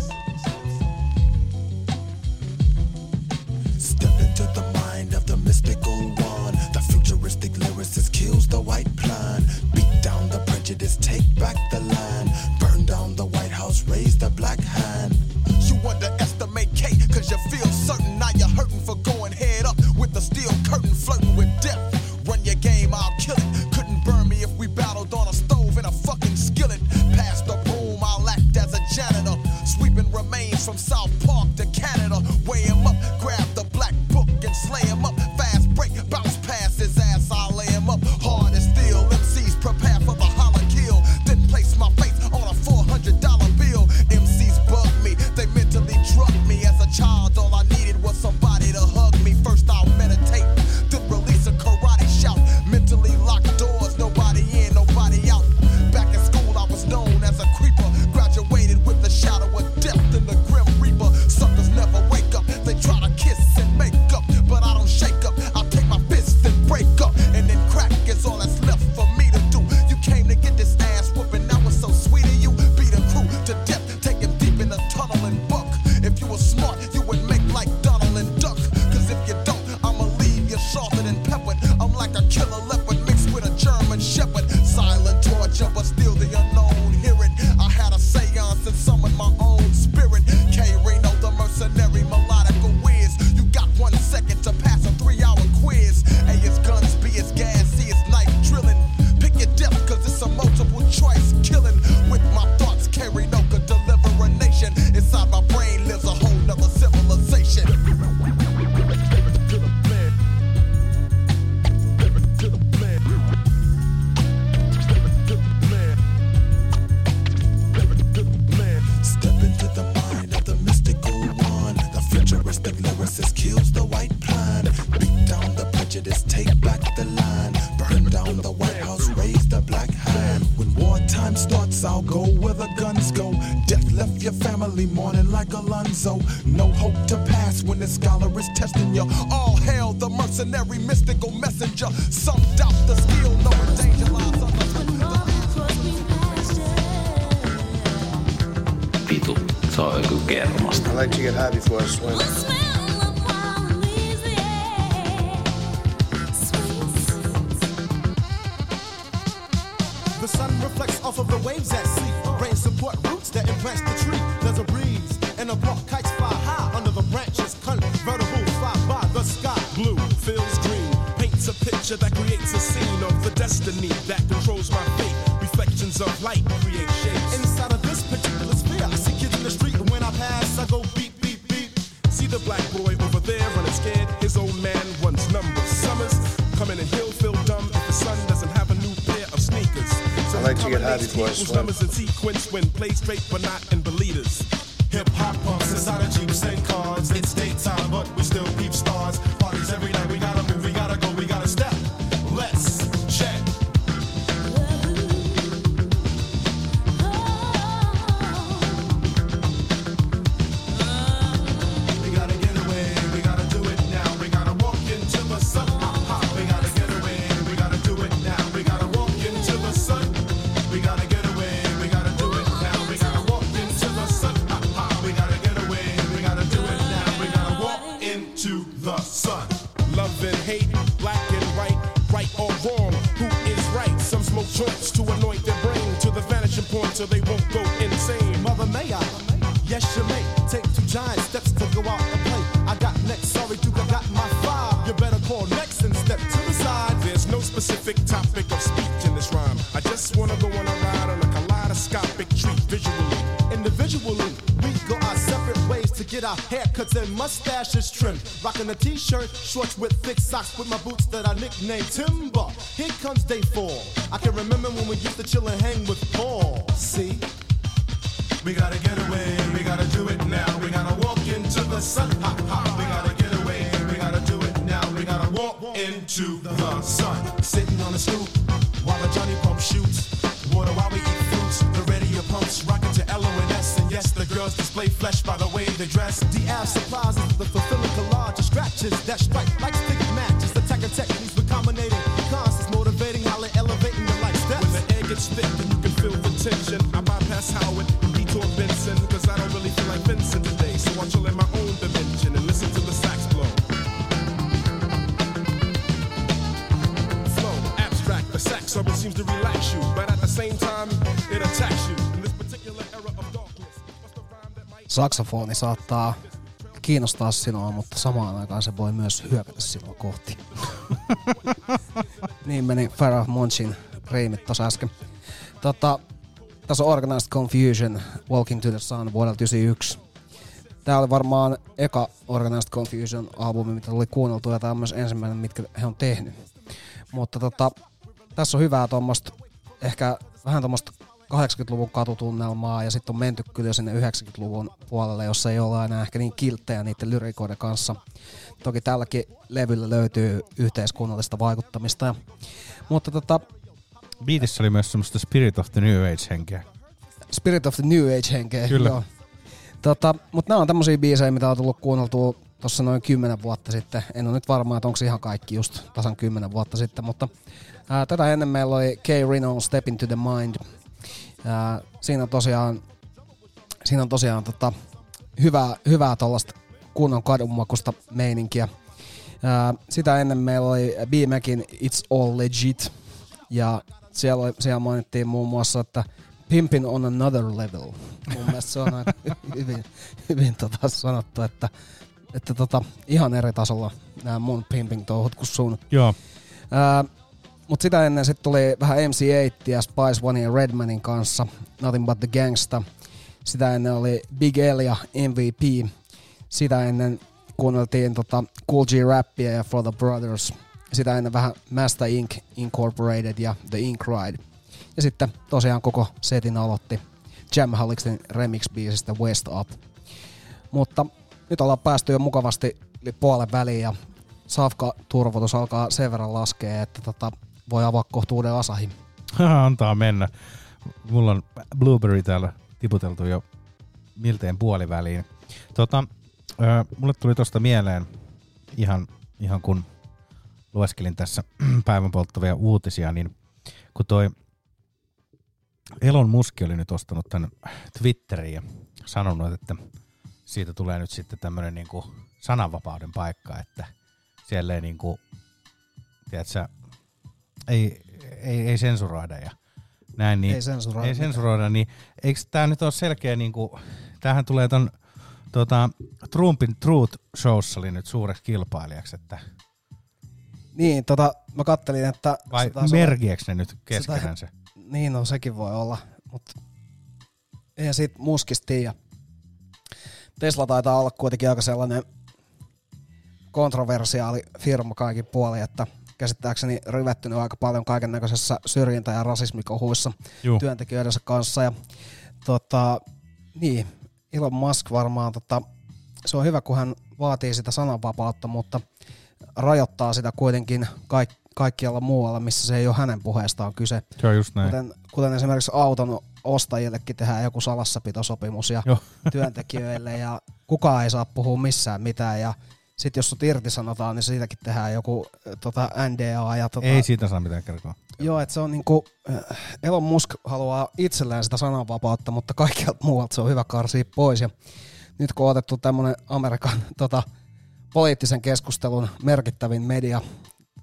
seen
Step into the mind of the mystical one. The futuristic lyricist kills the white plan. Beat down the prejudice, take back the land. Burn down the White House, raise the black hand.
You underestimate K, cause you feel certain. Now you're hurting for going head up with the steel curtain, flirting with death. Run your game, I'll kill it. Couldn't burn me if we battled on a stove in a fucking skillet. Pass the broom, I'll act as a janitor. Sweeping remains from South Park to Canada. Weigh him up, grab the black book and slay him up. Fast break, bounce past his ass, I'll lay him up. Hard as steel, M Cs prepare for the holler kill. Then place my face on a four hundred dollar bill. M Cs bug me, they mentally drug me. As a child, all I needed was somebody to hug me. First I'll meditate, then release a karate shout. Mentally locked doors, nobody in, nobody out. Back in school I was known as a creeper. Graduated with the shadow of death and the grim reaper. Suckers never wake up, they try to kiss and make up. But I don't shake up, I'll take my fist and break up. And then crack is all that's left for me to do. You came to get this ass whooping, now it's so sweet of you. Beat a crew to death, take him deep in the tunnel and buck. If you were smart, you would make like Donald and Duck. Cause if you don't, I'ma leave you salted and peppered. I'm like a killer leopard mixed with a German shepherd. Silent torture, but still the unknown. Hear it, I had a seance and summoned my own spirit. K. Reno, the mercenary, melodical whiz. You got one second to pass a three-hour quiz. A is guns, B is gas, C is knife drilling. Pick your death, cause it's a multiple choice killing. With my thoughts, K. Reno could deliver a nation. Inside my brain lives a whole nother civilization. Step into the mind of the mystical one. The futuristic lyricist kills the white plan. Beat down the prejudice, take back the land. Burn down the White House, raise the black hand. When wartime starts, I'll go where the guns go. Death left your family mourning like Alonzo. No hope to pass when the scholar is testing you. All hail the mercenary, mystical messenger. Some doubt the skill, knowing danger lies on the
Vitu, se on joku kermasta.
I like to get high before I swim.
The sun reflects off of the waves at sea. Rain support roots that embrace the tree. There's a breeze and a block kites fly high under the branches. Convertible fly by the sky.
Blue feels green, paints a picture that creates a scene of the destiny that controls my fate. Reflections of light create shapes.
Inside of this particular sphere, I see kids in the street, and when I pass, I go beep, beep, beep.
See the black boy over there running scared. His old man runs numbers. Summers coming and he'll feel dumb if the son doesn't have a new pair of sneakers. So
I like to get high before I swim.
Numbers in sequence when play straight but not in believers.
Hip hop pumps inside of Jeeps and cars. It's daytime, but we still peep stars. Parties every night, we gotta move, we gotta go, we gotta step. Let's check. We gotta get take two giant steps to go out and play. I got next, sorry Duke, I got my five. You better call next and step to the side.
There's no specific topic of speech in this rhyme. I just wanna go on a ride on a kaleidoscopic treat visually.
Individually, we go our separate ways to get our haircuts and mustaches trimmed. Rocking a t-shirt, shorts with thick socks with my boots that I nicknamed Timber. Here comes day four. I can remember when we used to chill and hang with Paul. See?
We gotta get away, we gotta do it now. We gotta walk into the sun. Ha, ha. We gotta get away, we gotta do it now. We gotta walk into the sun.
Sitting on a stoop while the Johnny Pump shoots. Water while we eat fruits. The radio pumps rocking to L O and S. And yes, the girls display flesh by the way they dress. D L supplies the fulfilling collage of scratches that strike like stick matches. Attacking techniques with combinating concepts, motivating, highly elevating the life steps.
When the air gets thick and you can feel the tension, I bypass Howard and detour Benson, cause I don't really feel like Vincent today. So I'm chill in my own dimension and listen to the sax blow. Flow, abstract, the sax always seems to relax you, but at the same time, it attacks you. In this particular era of darkness, what's the rhyme that might...
Saksofoni saattaa kiinnostaa sinua, mutta samaan aikaan se voi myös hyökätä sinua kohti. Niin meni Pharoah Monchin riimit tossa äsken. Tota, tässä on Organized Confusion, Walking to the Sun vuodelta yhdeksänkymmentäyksi. Tää oli varmaan eka Organized Confusion-albumi, mitä tuli kuunneltua, ja tää on myös ensimmäinen, mitkä he on tehnyt. Mutta tota, tässä on hyvää tommoista, ehkä vähän tommoista kahdeksankymmentäluvun katutunnelmaa, ja sitten on menty kyllä sinne yhdeksänkymmentäluvun puolelle, jossa ei olla enää ehkä niin kilttejä niiden lyrikoiden kanssa. Toki tälläkin levyllä löytyy yhteiskunnallista vaikuttamista. Ja, mutta tota...
Beatissä oli myös semmoista Spirit of the New Age-henkeä.
Spirit of the New Age-henkeä,
kyllä.
Joo. Tota, mutta nämä on tämmöisiä biisejä, mitä on tullut kuunneltua tuossa noin kymmenen vuotta sitten. En ole nyt varma, että onko ihan kaikki just tasan kymmenen vuotta sitten, mutta ää, tätä ennen meillä oli K. Reno, Step into the Mind. Ää, siinä on tosiaan, siinä on tosiaan tota, hyvää, hyvää tollaista kunnon kadunmakusta meininkiä. Ää, sitä ennen meillä oli B. Macin It's All Legit, ja siellä, oli, siellä mainittiin muun muassa, että Pimpin on another level. Mun mielestä se on aika hyvin, hyvin tota sanottu, että, että tota, ihan eri tasolla nämä mun pimping-touhut kuin sun.
Joo.
Ää, mut sitä ennen sit tuli vähän M C eight ja Spice One ja Redmanin kanssa Nothing But The Gangsta. Sitä ennen oli Big L ja M V P. Sitä ennen kuunneltiin tota Cool G Rappia ja For The Brothers. Sitä ennen vähän Masta Inc Incorporated ja The Ink Ride. Ja sitten tosiaan koko setin aloitti Jamhaliksen remix-biisistä West Up. Mutta nyt ollaan päästy jo mukavasti puolen väliin ja safka-turvotus alkaa sen verran laskea, että tota, voi avaa kohta uuden Asahin.
Antaa mennä. Mulla on Blueberry täällä tiputeltu jo miltein puoliväliin. Tota, äh, mulle tuli tosta mieleen ihan, ihan kun lueskelin tässä päivän polttavia uutisia, niin kun toi Elon Musk oli nyt ostanut tämän Twitteriin ja sanonut, että siitä tulee nyt sitten tämmöinen niinku sananvapauden paikka, että siellä ei niinku, tiedätkö, ei, ei, ei sensuroida ja näin. Niin,
ei sensuroida.
Ei sensuroida, niin eikö tää nyt ole selkeä niinku, tämähän tulee ton tota, Trumpin Truth Showssa oli nyt suureksi kilpailijaksi, että
niin, tota, mä kattelin, että...
vai merkiäks ne nyt keskenään se?
Niin, no sekin voi olla, mutta eihän siitä Muskista tiedä. Tesla taitaa olla kuitenkin aika sellainen kontroversiaali firma kaikin puolin, että käsittääkseni rivettynyt aika paljon kaiken näköisessä syrjintä- ja rasismikohuissa Juh. työntekijöidensä kanssa. Ja, tota, niin, Elon Musk varmaan, tota, se on hyvä, kun hän vaatii sitä sananvapautta, mutta rajoittaa sitä kuitenkin kaik- kaikkialla muualla, missä se ei ole hänen puheestaan kyse.
Se on just näin.
Kuten, kuten esimerkiksi auton ostajillekin tehdään joku salassapitosopimus ja
Joo.
työntekijöille ja kukaan ei saa puhua missään mitään ja sitten jos sut irtisanotaan, niin siitäkin tehdään joku tota, N D A. Ja, tota,
ei siitä saa mitään kertoa.
Joo, että se on niinku, Elon Musk haluaa itselleen sitä sananvapautta, mutta kaikkialta muualta se on hyvä karsia pois. Ja nyt kun on otettu tämmönen Amerikan tota, poliittisen keskustelun merkittävin media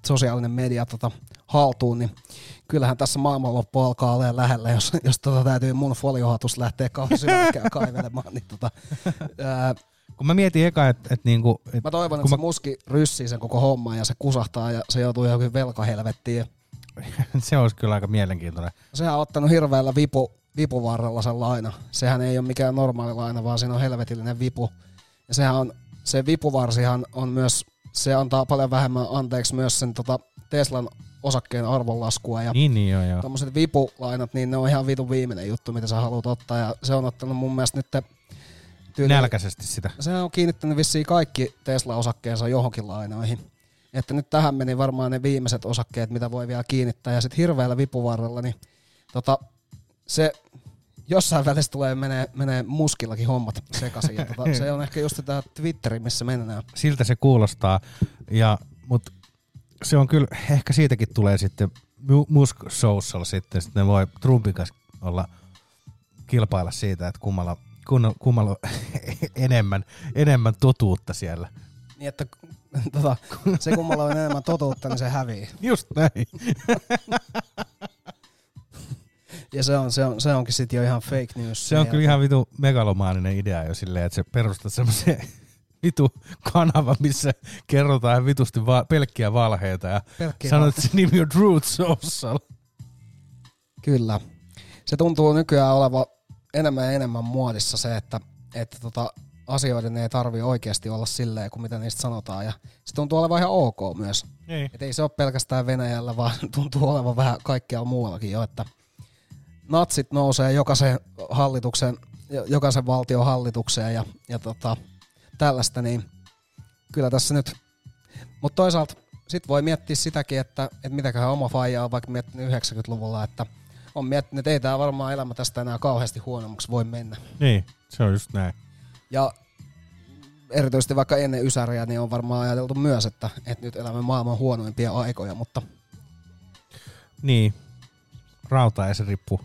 sosiaalinen media tota, haltuun, niin kyllähän tässä maailmanloppu alkaa olemaan lähellä, jos, jos tota, täytyy mun foliohatus lähteä kauan syvälläkään kaivelemaan. Niin, tota, ää,
kun mä mietin eka, että et niinku... Et,
mä toivon, että se mä... muski ryssii sen koko homman ja se kusahtaa ja se joutuu johonkin velkahelvettiin.
Se olisi kyllä aika mielenkiintoinen.
Sehän on ottanut hirveällä vipu, vipuvarrella sen laina. Sehän ei ole mikään normaali laina, vaan siinä on helvetillinen vipu. Ja sehän on, se vipuvarsihan on myös, se antaa paljon vähemmän anteeksi myös sen tota, Teslan osakkeen arvonlaskua. Ja
niin, niin joo, joo.
tommoset vipulainat, niin ne on ihan vitun viimeinen juttu, mitä sä haluat ottaa. Ja se on ottanut mun mielestä nyt tyyli,
nälkäisesti sitä.
Se on kiinnittänyt vissiin kaikki Tesla-osakkeensa johonkin lainoihin. Että nyt tähän meni varmaan ne viimeiset osakkeet, mitä voi vielä kiinnittää. Ja sitten hirveällä vipuvarrella, niin tota, se jossain välissä tulee menee, menee muskillakin hommat sekaisin. Ja tota, se on ehkä just tämä Twitteri, missä mennään.
Siltä se kuulostaa. Ja, mut se on kyllä, ehkä siitäkin tulee sitten Musk Social sitten. Sitten ne voi Trumpin kanssa olla kilpailla siitä, että kummalla, kummalla on enemmän, enemmän totuutta siellä.
Niin, että tota, se kummalla on enemmän totuutta, niin se hävii.
Just näin.
Ja se, on, se, on, se onkin sitten jo ihan fake news.
Se on kyllä ihan vitu megalomaaninen idea jo silleen, että se perustaa semmoisen vitu kanava, missä kerrotaan vitusti va- pelkkiä valheita ja pelkkiä sanot, että se nimi on Truth Social.
Kyllä. Se tuntuu nykyään olevan enemmän ja enemmän muodissa se, että, että tota, asioiden ei tarvitse oikeasti olla silleen, kuin mitä niistä sanotaan. Ja se tuntuu olevan ihan ok myös.
Ei.
Et ei se ole pelkästään Venäjällä, vaan tuntuu olevan vähän kaikkialla muuallakin jo, että natsit nousee jokaisen hallituksen, jokaisen valtion hallitukseen ja, ja tota, tällaista, niin kyllä tässä nyt. Mutta toisaalta sit voi miettiä sitäkin, että, että mitäköhän oma faija on vaikka miettinyt yhdeksänkymmentäluvulla, että on miettinyt, että ei tämä varmaan elämä tästä enää kauheasti huonommaksi voi mennä.
Niin, se on just näin.
Ja erityisesti vaikka ennen Ysäriä, niin on varmaan ajateltu myös, että, että nyt elämme maailman huonoimpia aikoja, mutta...
Niin, rauta ei se rippu.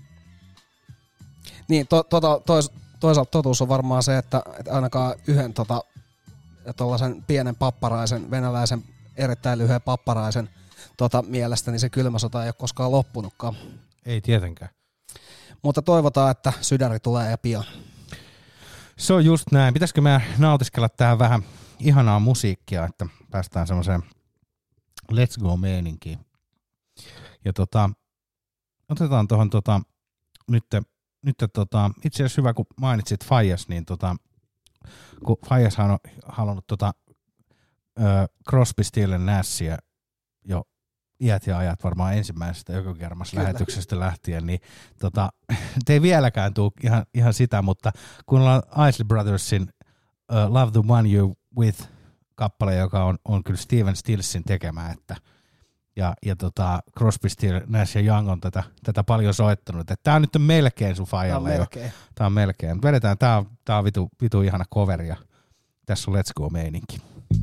Niin, to, to, tois, toisaalta totuus on varmaan se, että, että ainakaan yhden tota, tollasen pienen papparaisen, venäläisen erittäin lyhyen papparaisen tota, mielestä, niin se kylmä sota ei ole koskaan loppunutkaan.
Ei tietenkään.
Mutta toivotaan, että sydäri tulee ja pian.
Se on just näin. Pitäisikö me nautiskella tähän vähän ihanaa musiikkia, että päästään semmoiseen let's go -meininkiin. Ja tota, otetaan tuohon tota, nyt, nyt tota, itse asiassa hyvä, kun mainitsit Faijas, niin tota, kun Fajashan on halunnut tota, ö, Crosby, Stills Nashia jo iät ja ajat varmaan ensimmäisestä Ökokermas lähetyksestä lähtien, niin tota, ei vieläkään tule ihan, ihan sitä, mutta kun ollaan Isley Brothersin uh, Love the One You With -kappale, joka on, on kyllä Steven Stillsin tekemä, että ja, ja tota, Crosby, Stills, Nash ja Young on tätä, tätä paljon soittanut, että tää on nyt melkein sun faijalle jo. Tää on melkein. Vedetään, tää on, tää on vitu, vitu ihana coveri ja tässä on Let's Go -meininki.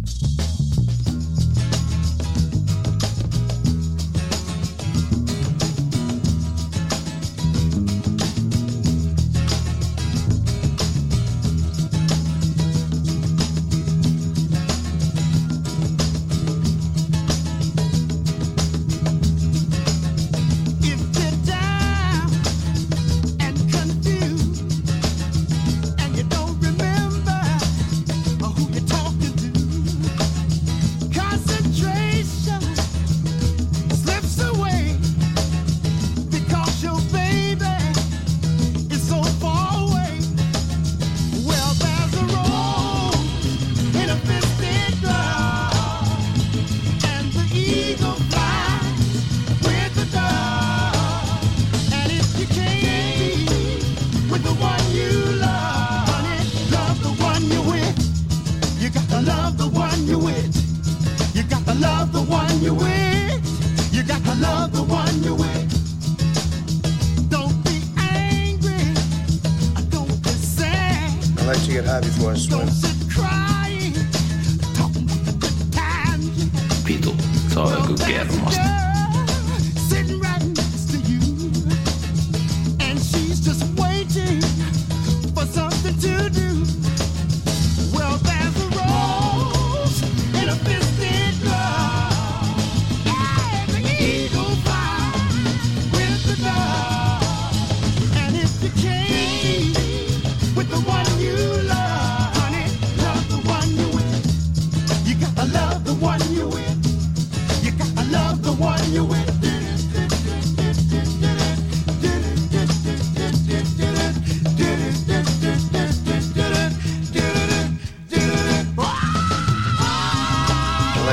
Vitu, se on joku kermasta.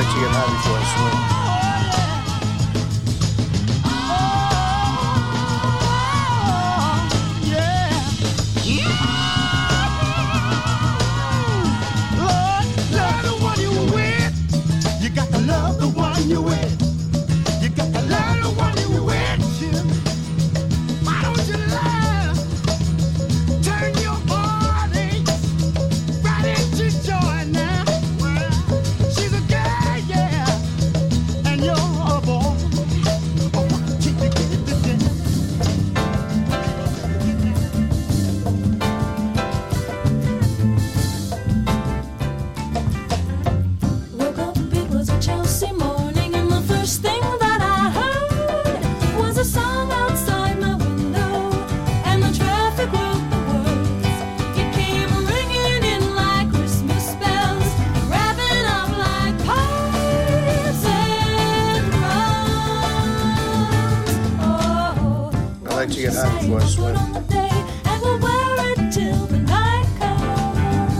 like to get high before I swim.
You with, you got to love the one you with. Why don't you love? Turn your body right into joy now. She's a girl, yeah, and you're a boy. Oh, can you get the dance?
Woke up, it was a Chelsea morning, and the first thing that I heard was a song outside my window, and the traffic wrote the words. It came ringing in like Christmas bells, wrapping up like pipes and drums. Oh,
I like to get high before I swim.
on the day, and we'll wear it till the night comes.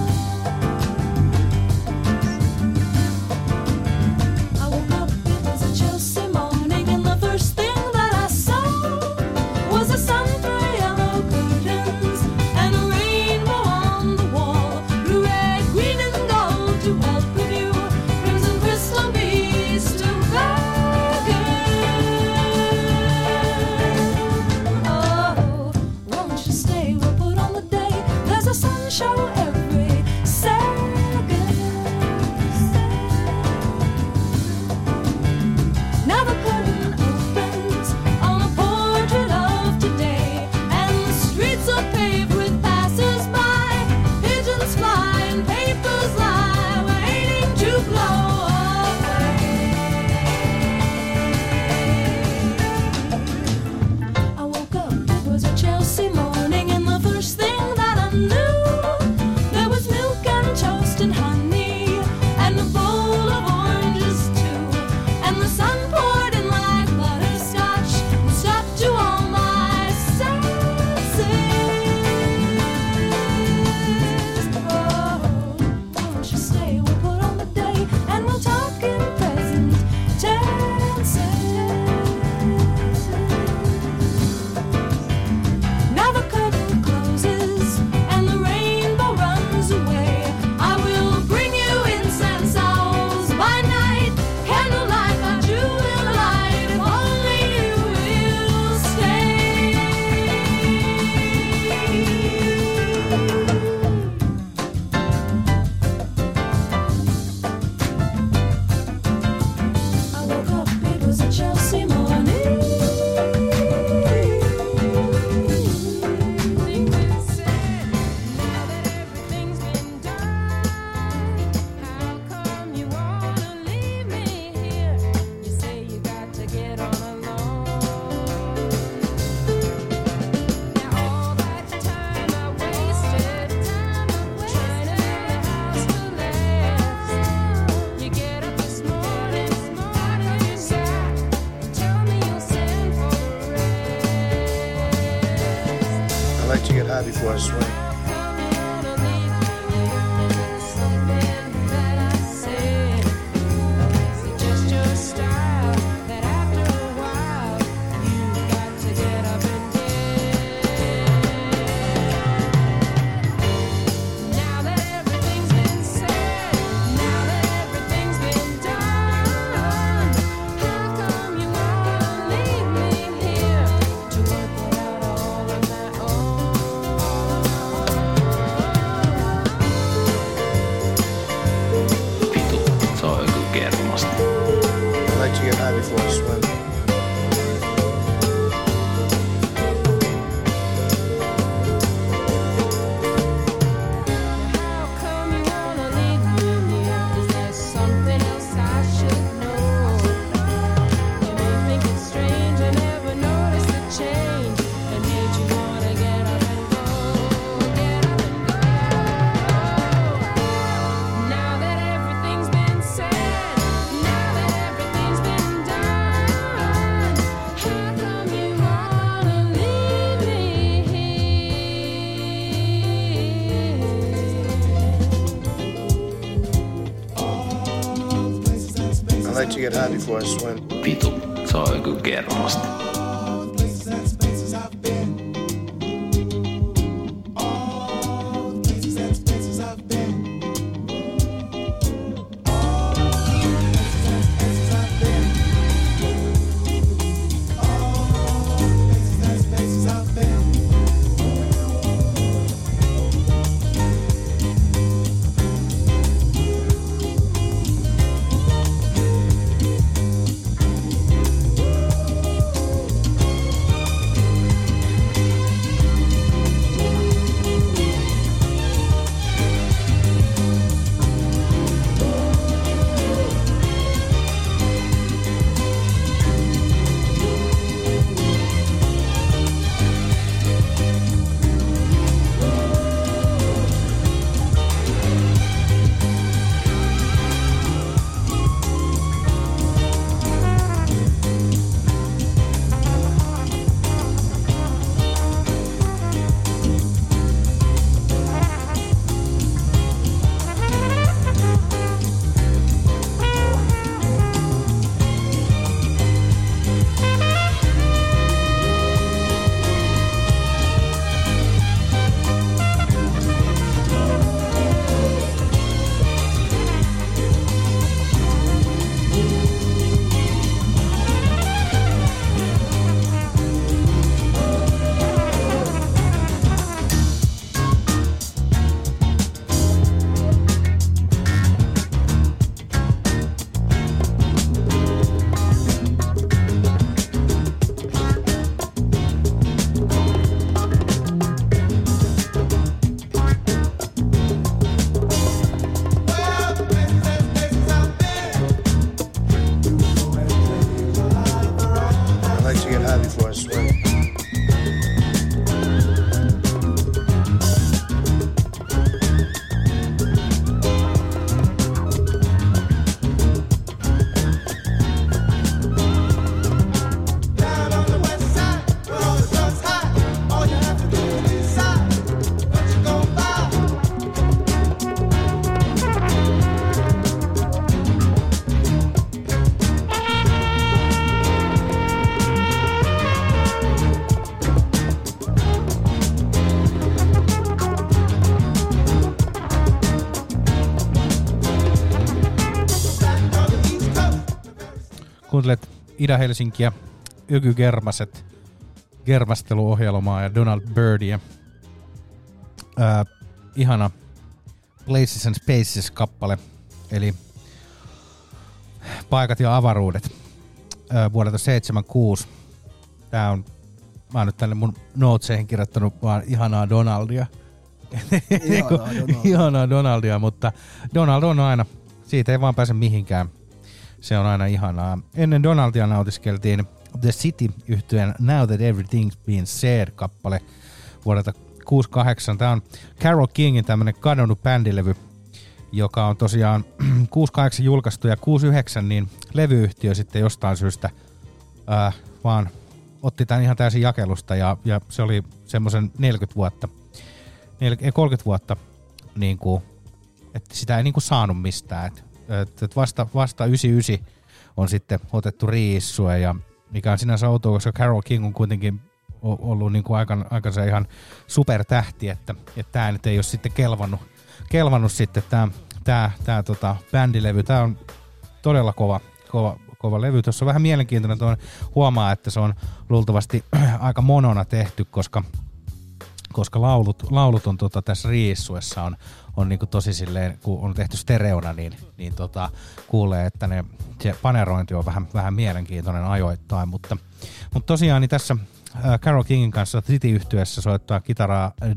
I woke up, it was a Chelsea morning, and the first thing that I saw was a sun through yellow curtains and a rainbow on the wall. Blue, red, green, and gold to welcome you. Crimson crystal beads to beckon. Oh, won't you stay? We'll put on the day. There's a sun show every second. Now the curtain opens on a portrait of today, and the streets are paved with passers-by. Pigeons fly and papers lie, waiting to blow away. I woke up, it was a Chelsea morning, and the first thing that I knew, there was milk and toast and honey, and a bowl of oranges too. And the sun poured in like butterscotch and stuck to all my senses. Oh, won't you stay? We'll put on the day, and we'll talk in present tenses. Now the curtain closes and the rainbow runs away. I will bring you incense owls by night, candlelight, a jewel light, if only you will stay. I woke up, it was a Chelsea morning.
I like to get high before I swim.
Se on joku kermasta.
I like to get high before I swim.
Now that everything's been said, now that everything's been done,
like to get high before I swim.
Vitu, se on joku kermasta.
Kuuntelet Ida-Helsinkiä, Öky Germaset, Germasteluohjelmaa ja Donald Byrdia. Ää, ihana Places and Spaces-kappale, eli Paikat ja avaruudet ää, vuodelta seitsemänkymmentäkuusi. Tää on, mä oon nyt tänne mun noteseihin kirjoittanut vaan ihanaa Donaldia.
Ihanaa Donaldia.
Ihanaa Donaldia, mutta Donald on aina, siitä ei vaan pääse mihinkään. Se on aina ihanaa. Ennen Donaldia nautiskeltiin The City-yhtyeen Now That Everything's Been Said-kappale vuodelta kuusikymmentäkahdeksan. Tämä on Carole Kingin tämmönen kadonnut bändilevy, joka on tosiaan kuusikymmentäkahdeksan julkaistu ja kuusikymmentäyhdeksän, niin levyyhtiö sitten jostain syystä ää, vaan otti tämän ihan täysin jakelusta ja, ja se oli semmoisen neljäkymmentä vuotta, neljäkymmentä, kolmekymmentä vuotta, niin kuin, että sitä ei niin kuin saanut mistään. Et, et vasta, vasta yhdeksänkymmentäyhdeksän on sitten otettu riissua, ja mikä on sinänsä outoa, koska Carole King on kuitenkin ollut niin kuin aikan, aikansa ihan supertähti, että tämä nyt ei ole sitten kelvannut, kelvannut sitten tämä tää, tää, tota, bändilevy. Tämä on todella kova, kova, kova levy. Tuossa on vähän mielenkiintoinen, tuon huomaa, että se on luultavasti aika monona tehty, koska, koska laulut, laulut on tota, tässä riissuessa on, on niinku tosi silleen, kun on tehty stereona, niin, niin tota, kuulee, että ne, se panerointi on vähän, vähän mielenkiintoinen ajoittain, mutta, mutta tosiaan niin tässä äh, Carole Kingin kanssa City-yhtyessä soittaa kitaraa äh,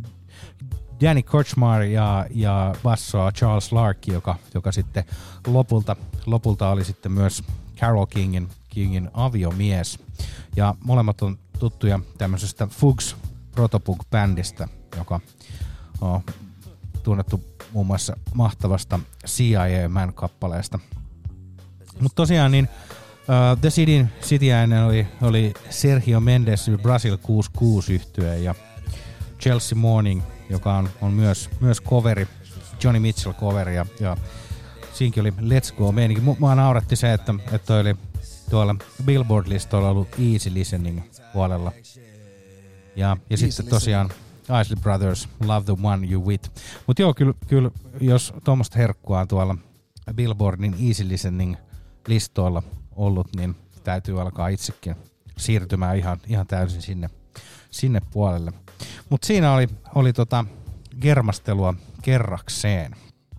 Danny Kortchmar ja, ja bassoa Charles Lark, joka, joka sitten lopulta, lopulta oli sitten myös Carole Kingin, Kingin aviomies. Ja molemmat on tuttuja tämmöisestä Fugs protopunk-bändistä, joka on tunnettu muun muassa mahtavasta C I A-man-kappaleesta. Mutta tosiaan niin uh, The Cityn Cityäinen oli, oli Sergio Mendes Brasil kuusikymmentäkuusi yhtye ja Chelsea Morning, joka on, on myös, myös coveri, Johnny Mitchell coveri, ja, ja siinkin oli Let's Go meininki. Mua nauratti se, että, että toi oli tuolla Billboard-listoilla ollut Easy Listening puolella. Ja, ja sitten tosiaan Isley Brothers, Love the One You With. Mut joo, kyllä, kyllä jos tuommoista herkkua on tuolla Billboardin Easy Listening listoilla ollut, niin täytyy alkaa itsekin siirtymään ihan, ihan täysin sinne, sinne puolelle. Mut siinä oli, oli tota germastelua kerrakseen.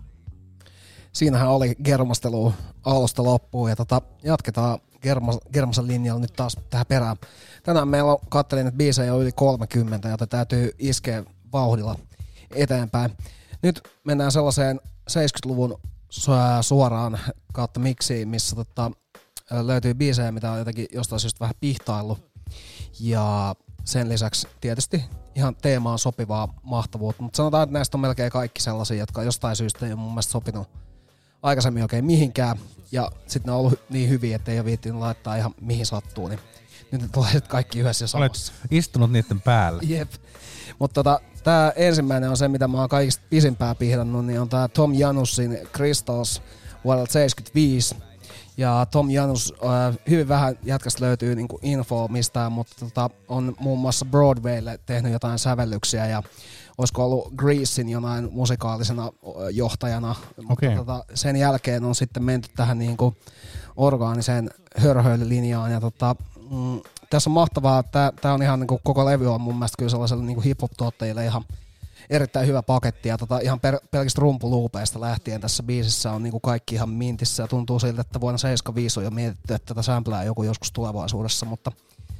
Siinähän oli germastelua alusta loppuun ja tota, jatketaan Germas, Germasen linjalla nyt taas tähän perään. Tänään meillä on, kattelin, että biisejä on yli kolmekymmentä, joten täytyy iskeä vauhdilla eteenpäin. Nyt mennään sellaiseen seitsemänkymmentäluvun suoraan kautta miksiin, missä tota, löytyy biisejä, mitä on jotenkin jostain syystä vähän pihtaillut. Ja sen lisäksi tietysti ihan teemaan sopivaa mahtavuutta, mutta sanotaan, että näistä on melkein kaikki sellaisia, jotka jostain syystä ei ole mun mielestä sopinut aikaisemmin oikein mihinkään, ja sitten ne on ollut niin hyviä, että ei ole viittinyt laittaa ihan mihin sattuu, niin nyt ne tulee kaikki yhdessä ja samassa.
Olet istunut niiden päälle.
Jep. Mutta tota, tää ensimmäinen on se, mitä mä oon kaikista pisimpää pihdannut, niin on tää Tom Janusin Crystals vuodelta seitsemänkymmentäviisi. Ja Tom Janus, äh, hyvin vähän jätkästä löytyy niinku infoa mistään, mutta tota, on muun muassa Broadwaylle tehnyt jotain sävellyksiä ja olisiko ollut Greasein jonain musikaalisena johtajana, mutta
okay.
tota, sen jälkeen on sitten menty tähän niinku orgaaniseen hörhöilylinjaan ja tota, mm, tässä on mahtavaa, että tää on ihan niinku, koko levy on mun mielestä kyllä sellaiselle niinku hip-hop-tuottajille ihan erittäin hyvä paketti ja tota, ihan per, pelkistä rumpuluupeista lähtien tässä biisissä on niinku kaikki ihan mintissä ja tuntuu siltä, että vuonna seitsemänkymmentäviisi on jo mietitty, että tätä samplää joku joskus tulevaisuudessa, mutta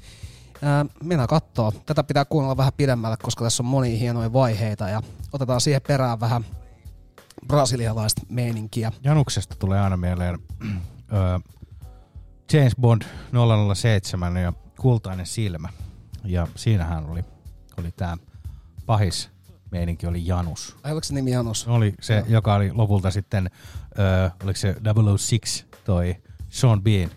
ää, mennään kattoo. Tätä pitää kuunnella vähän pidemmälle, koska tässä on monia hienoja vaiheita ja otetaan siihen perään vähän brasilialaista meininkiä.
Januksesta tulee aina mieleen öö, James Bond nolla nolla seitsemän ja Kultainen silmä ja siinähän oli, oli tää pahis meininki oli Janus.
Ai oliko se nimi Janus?
Oli se, no. Joka oli lopulta sitten, öö, oliko se double oh six toi Sean Bean.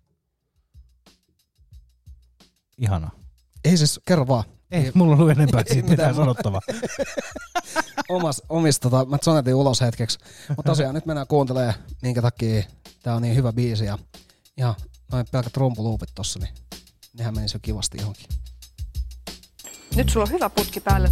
Ihana.
Ei siis, kerro vaan.
Ei, ei mulla on ollut enempää siitä mitään sanottavaa.
Omas, omista, tota, mä sonetin ulos hetkeksi. Mutta tosiaan nyt mennään kuuntelemaan, minkä takia tää on niin hyvä biisi. Ja ihan noin pelkät rumpuluupit tossa, niin nehän menisi jo kivasti johonkin.
Nyt sulla on hyvä putki päällä.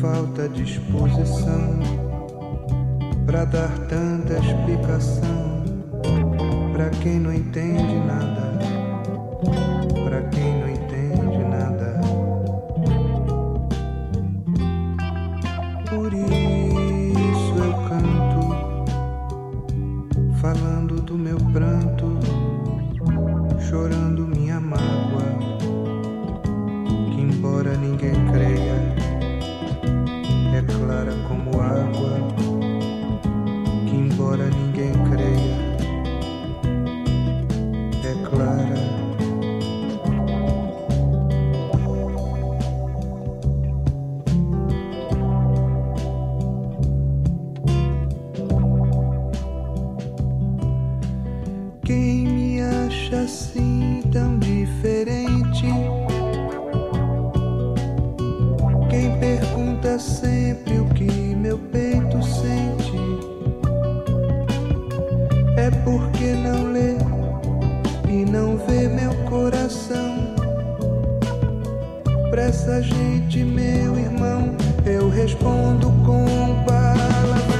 falta disposição pra dar tanta explicação pra quem não entende nada, pra quem não entende nada. Por isso eu canto, falando do meu pranto, chorando minha mágoa, que embora ninguém creia, é clara como água, que embora ninguém creia, é clara. Quem me acha assim tão diferente? Quem pergunta sempre o que meu peito sente? É porque não lê e não vê meu coração. Pra essa gente, meu irmão, eu respondo com palavrão.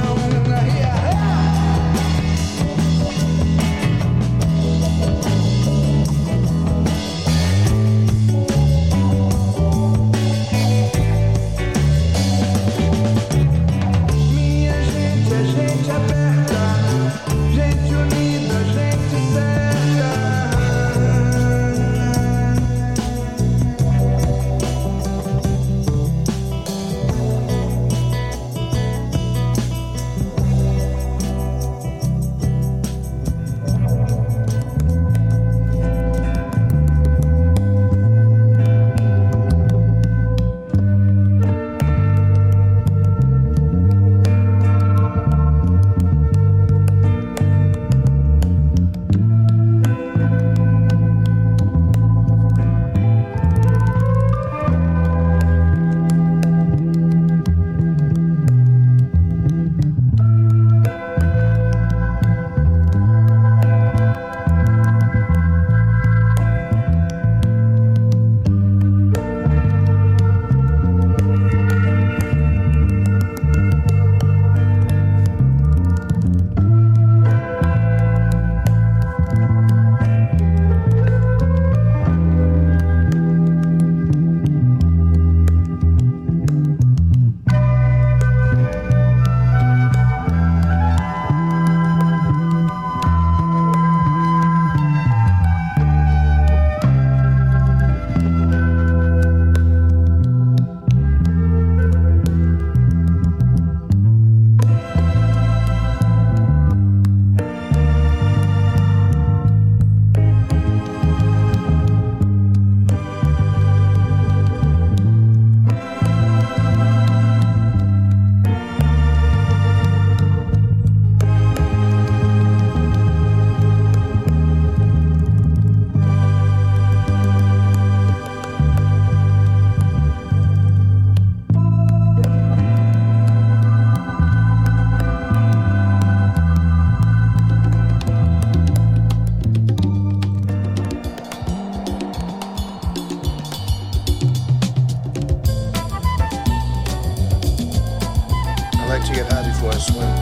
To get high before I swim.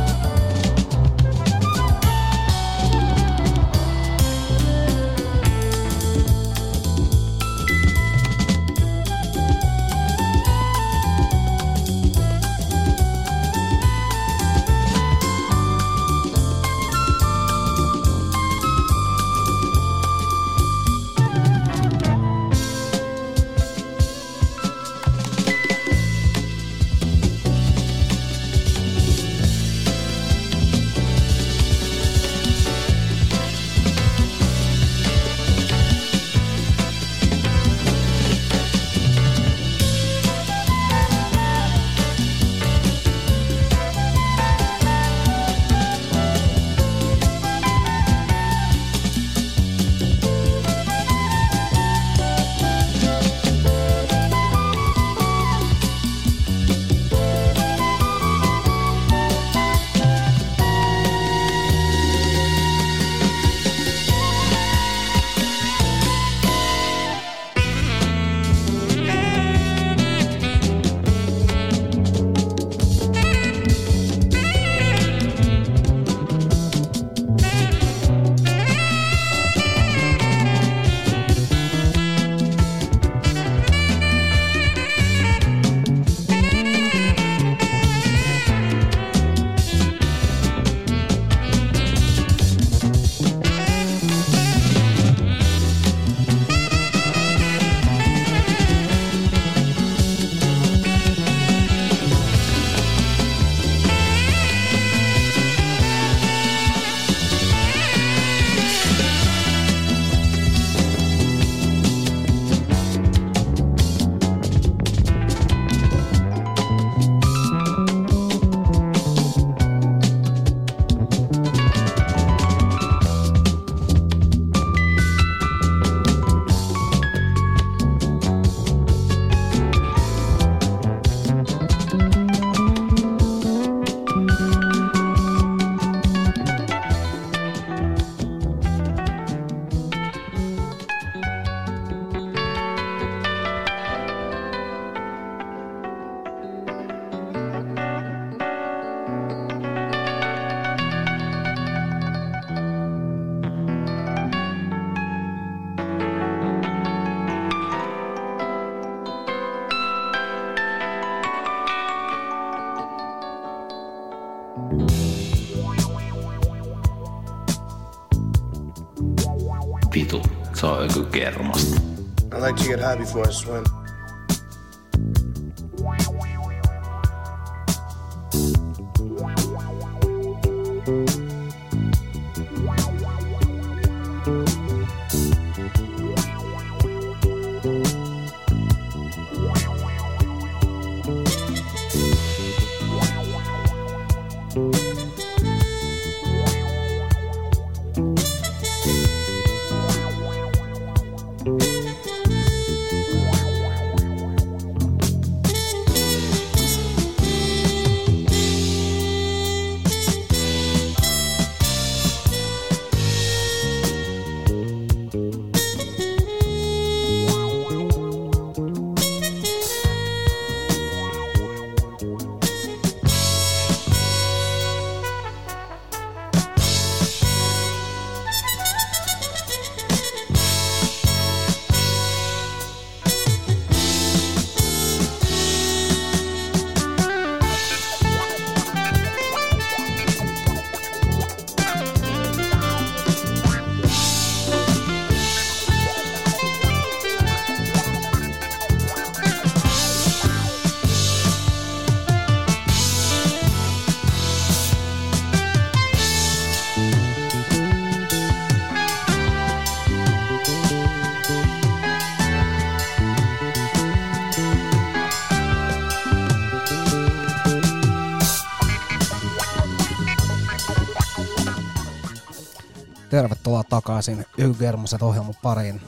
Se on joku kermasta.
I like to get high before I swim.
Tervetuloa takaisin Ygermoset ohjelman pariin.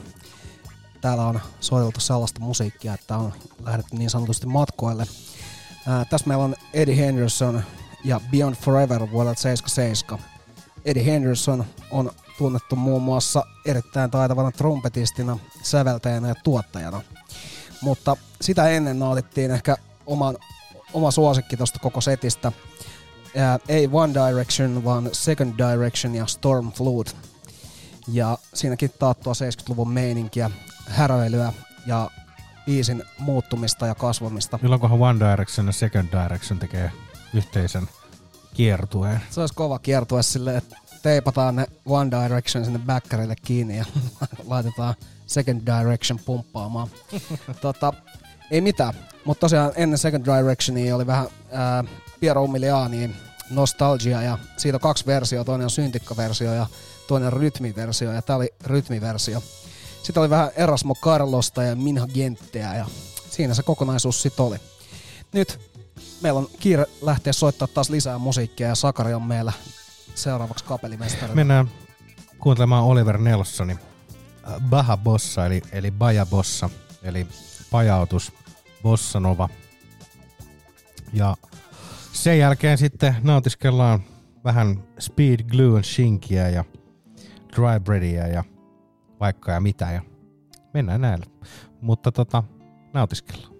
Täällä on soiteltu sellaista musiikkia, että on lähdetty niin sanotusti matkoille. Ää, tässä meillä on Eddie Henderson ja Beyond Forever vuodelta seitsemänkymmentäseitsemän. Eddie Henderson on tunnettu muun muassa erittäin taitavana trumpetistina, säveltäjänä ja tuottajana. Mutta sitä ennen nautittiin ehkä oman, oma suosikki tosta koko setistä. Ää, ei One Direction, vaan Second Direction ja Storm Flood. Ja siinäkin taattua seitsemänkymmentäluvun meininkiä, häröilyä ja biisin muuttumista ja kasvamista.
Milloinkohan One Direction ja Second Direction tekee yhteisen kiertueen?
Se olisi kova kiertue silleen, että teipataan ne One Direction sinne backerille kiinni ja laitetaan Second Direction pumppaamaan. tota, ei mitään, mutta tosiaan ennen Second Directionia oli vähän ää, Piero Umilianiin Nostalgia ja siitä on kaksi versiota, toinen on syntikkaversio ja toinen rytmiversio ja tää oli rytmiversio. Sitten oli vähän Erasmo Carlosta ja Minha Gentteä ja siinä se kokonaisuus sit oli. Nyt meillä on kiire lähteä soittaa taas lisää musiikkia ja Sakari on meillä seuraavaksi kapellimestarina.
Mennään kuuntelemaan Oliver Nelsonin Baja Bossa eli, eli Baja Bossa eli pajautus Bossa Nova. Ja sen jälkeen sitten nautiskellaan vähän Speed Glue and Shinkiä ja Dry Breadia ja vaikka ja mitä ja mennään näillä. Mutta tota, nautiskellaan.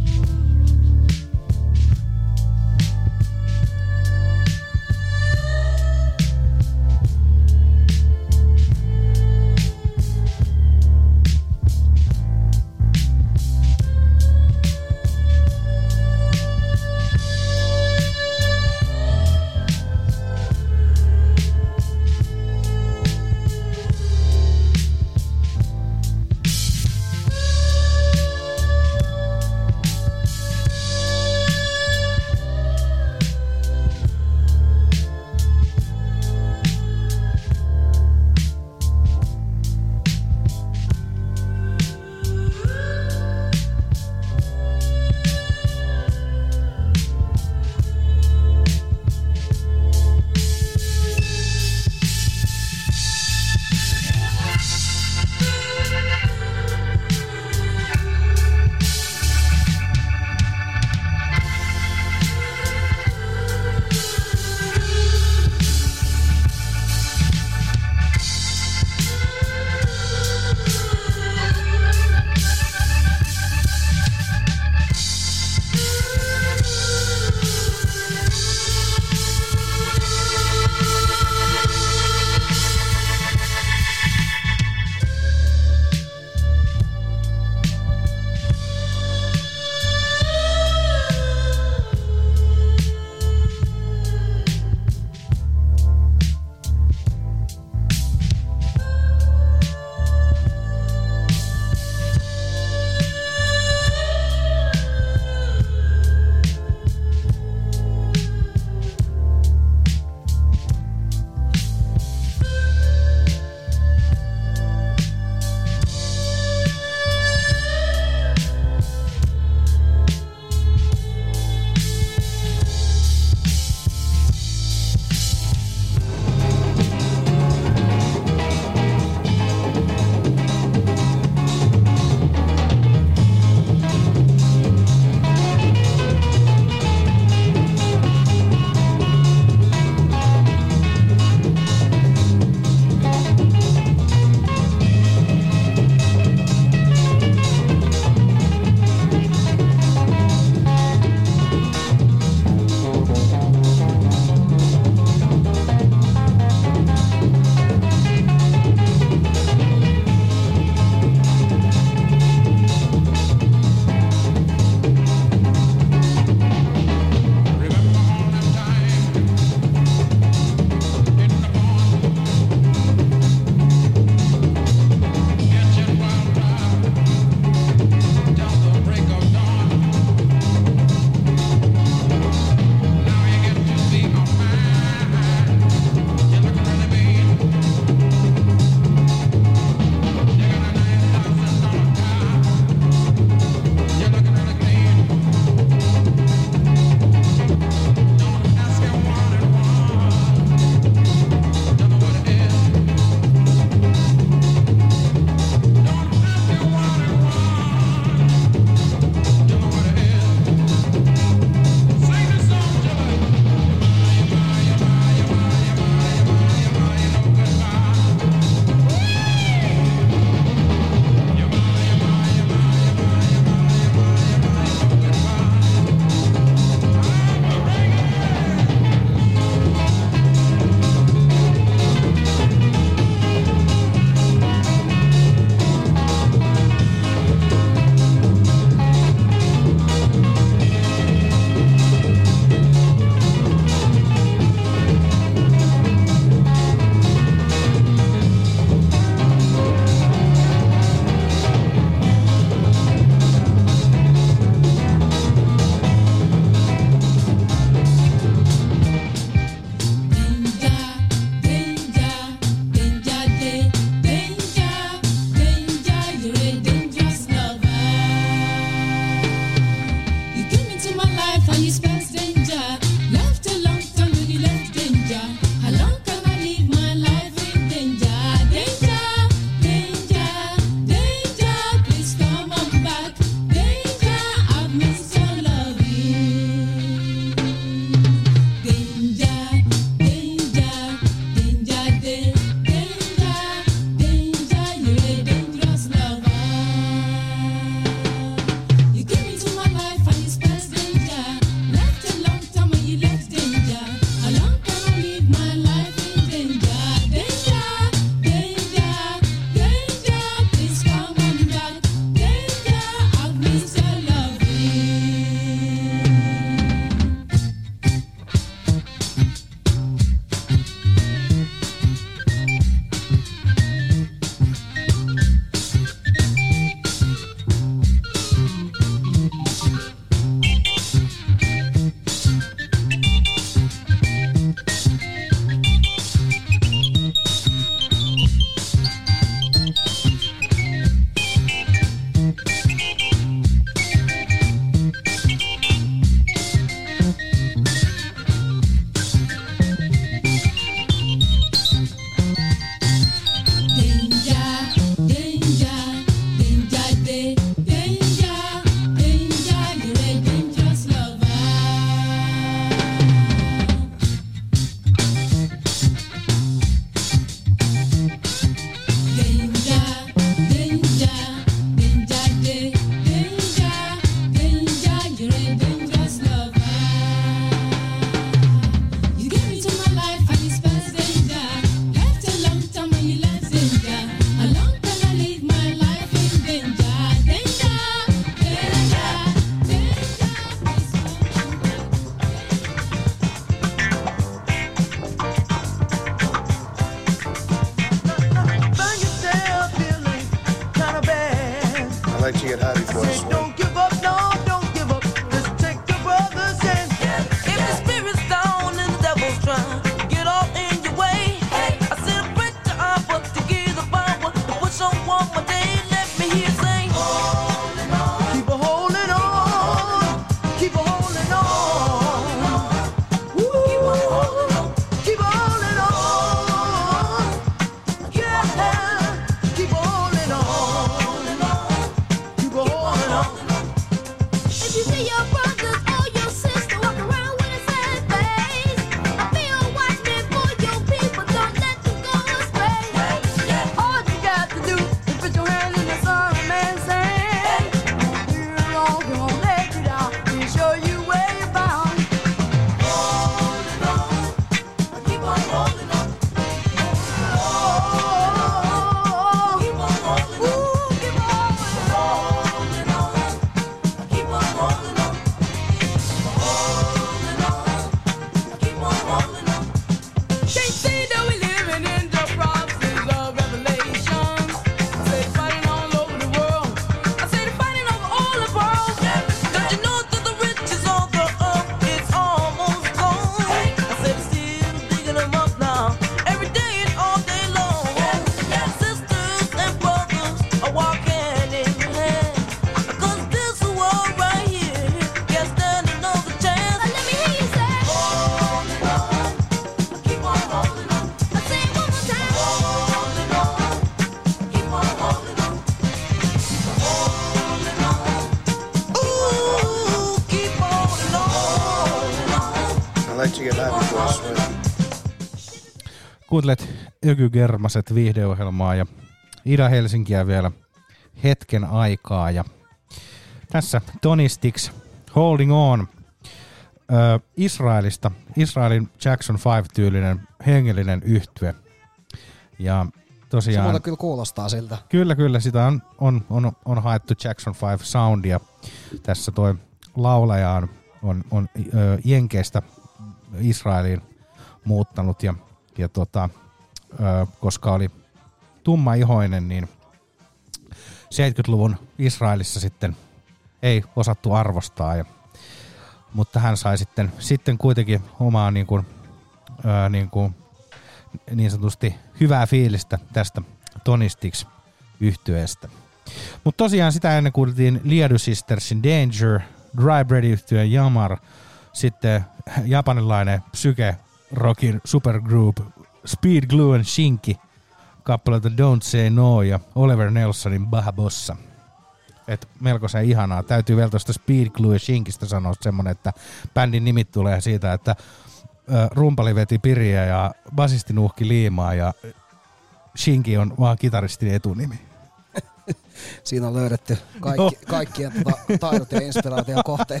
like to get high before I swim.
Kuuntelet Ökygermaset viihdeohjelmaa ja Ida-Helsinkiä vielä hetken aikaa. Ja tässä Tony Sticks, Holding On, ö, Israelista, Israelin Jackson Five-tyylinen hengellinen yhtye. Ja tosiaan...
Se muuta kyllä kuulostaa siltä.
Kyllä, kyllä. Sitä on, on, on, on haettu Jackson Five soundia. Tässä toi laulaja on, on, on ö, Jenkeistä Israeliin muuttanut ja, ja tota, ö, koska oli tummaihoinen, niin seitsemänkymmentäluvun Israelissa sitten ei osattu arvostaa. Ja, mutta hän sai sitten, sitten kuitenkin omaa niin, kuin, ö, niin, kuin, niin sanotusti hyvää fiilistä tästä Tony Sticks -yhtyeestä. Mutta tosiaan sitä ennen kuultiin Liadu Sistersin Danger, Dry Bread-yhtye Yamar, sitten japanilainen psyke-rockin supergroup Speed, Glue and Shinki, kappaleita Don't Say No ja Oliver Nelsonin Baja Bossa. Et melkoisen ihanaa. Täytyy vielä tuosta Speed, Glue ja Shinkistä sanoa semmonen, että bändin nimit tulee siitä, että ä, rumpali veti piriä ja basisti nuhki liimaa ja Shinki on vaan kitaristin etunimi.
Siinä on löydetty kaikki, no. kaikkien tota, taidot ja inspiraation kohteet.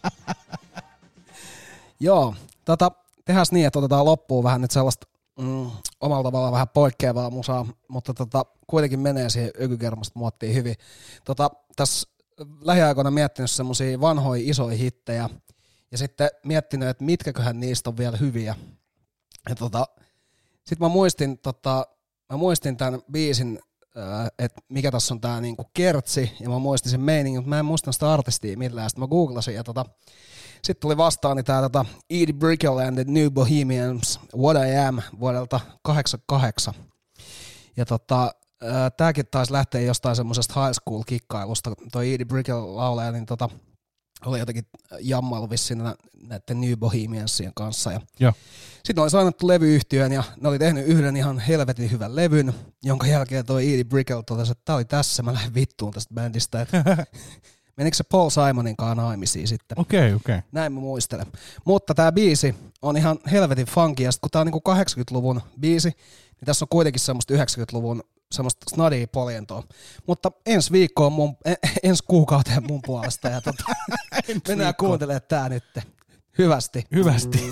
Joo, tota, tehdään niin, että otetaan loppuun vähän nyt sellaista mm, omalla tavallaan vähän poikkeavaa musaa, mutta tota, kuitenkin menee siihen Ökygermasta muottiin hyvin. Tota, tässä lähiaikoina miettinyt semmosia vanhoja isoja hittejä ja sitten miettinyt, että mitkäköhän niistä on vielä hyviä. Ja tota, sitten mä muistin, tota, mä muistin tämän biisin, että mikä tässä on tää niinku kertsi, ja mä muistin sen meiningin, mutta mä en muista sitä artistia millään. Sitten mä googlasin, ja tota, sitten tuli vastaani tää tota Edie Brickell and the New Bohemians, What I Am, vuodelta kahdeksankymmentäkahdeksan. Ja tota, tääkin taisi lähteä jostain semmosesta high school kikkailusta, toi Edie Brickell laulaja, niin tota, oli jotenkin jammailu vissiin näiden New Bohemiansien kanssa. Ja
ja.
Sitten oli sainattu levyyhtiön ja ne oli tehnyt yhden ihan helvetin hyvän levyn, jonka jälkeen toi Edie Brickell totesi, että tää oli tässä, mä lähden vittuun tästä bändistä. Että menikö se Paul Simonin kanssa naimisiin sitten?
Okei, okay, okei. Okay.
Näin mä muistelen. Mutta tää biisi on ihan helvetin funky ja sit kun tää on niinku kahdeksankymmentäluvun biisi, niin tässä on kuitenkin semmoista yhdeksänkymmentäluvun semmoista snadia poljentoa. Mutta ensi viikkoon mun, ensi kuukauteen mun puolesta ja tota, mennään kuuntelemaan tää nyt. Hyvästi.
Hyvästi.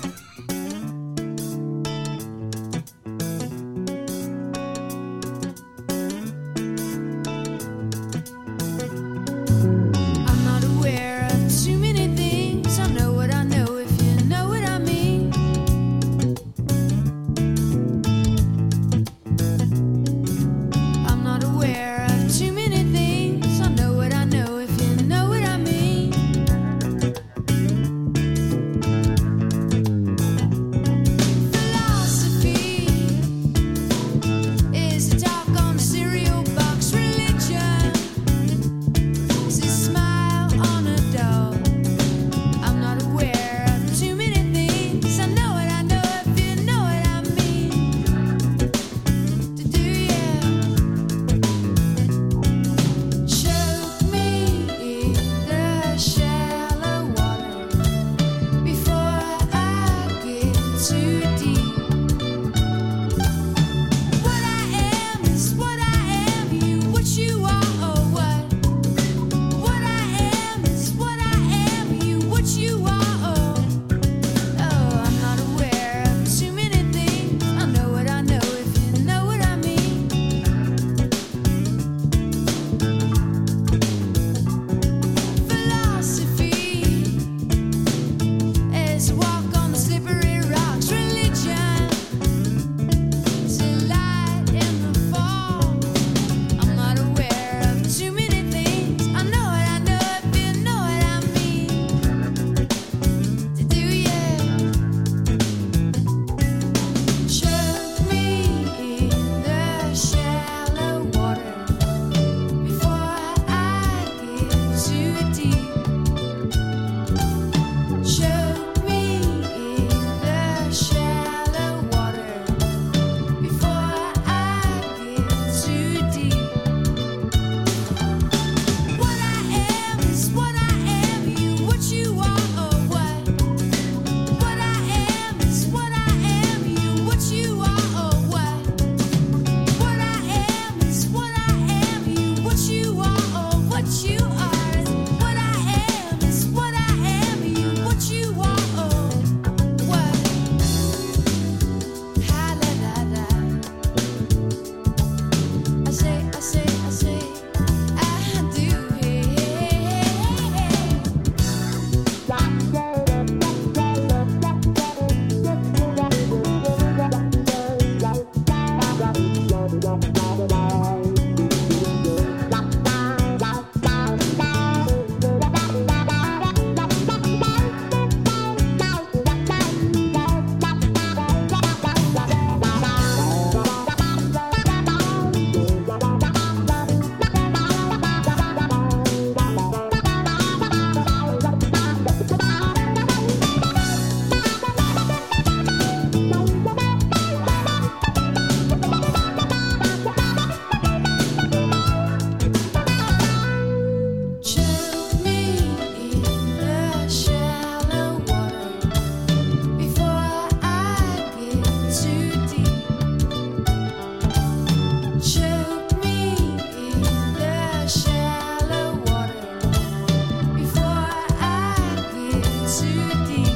Thank you.
melody.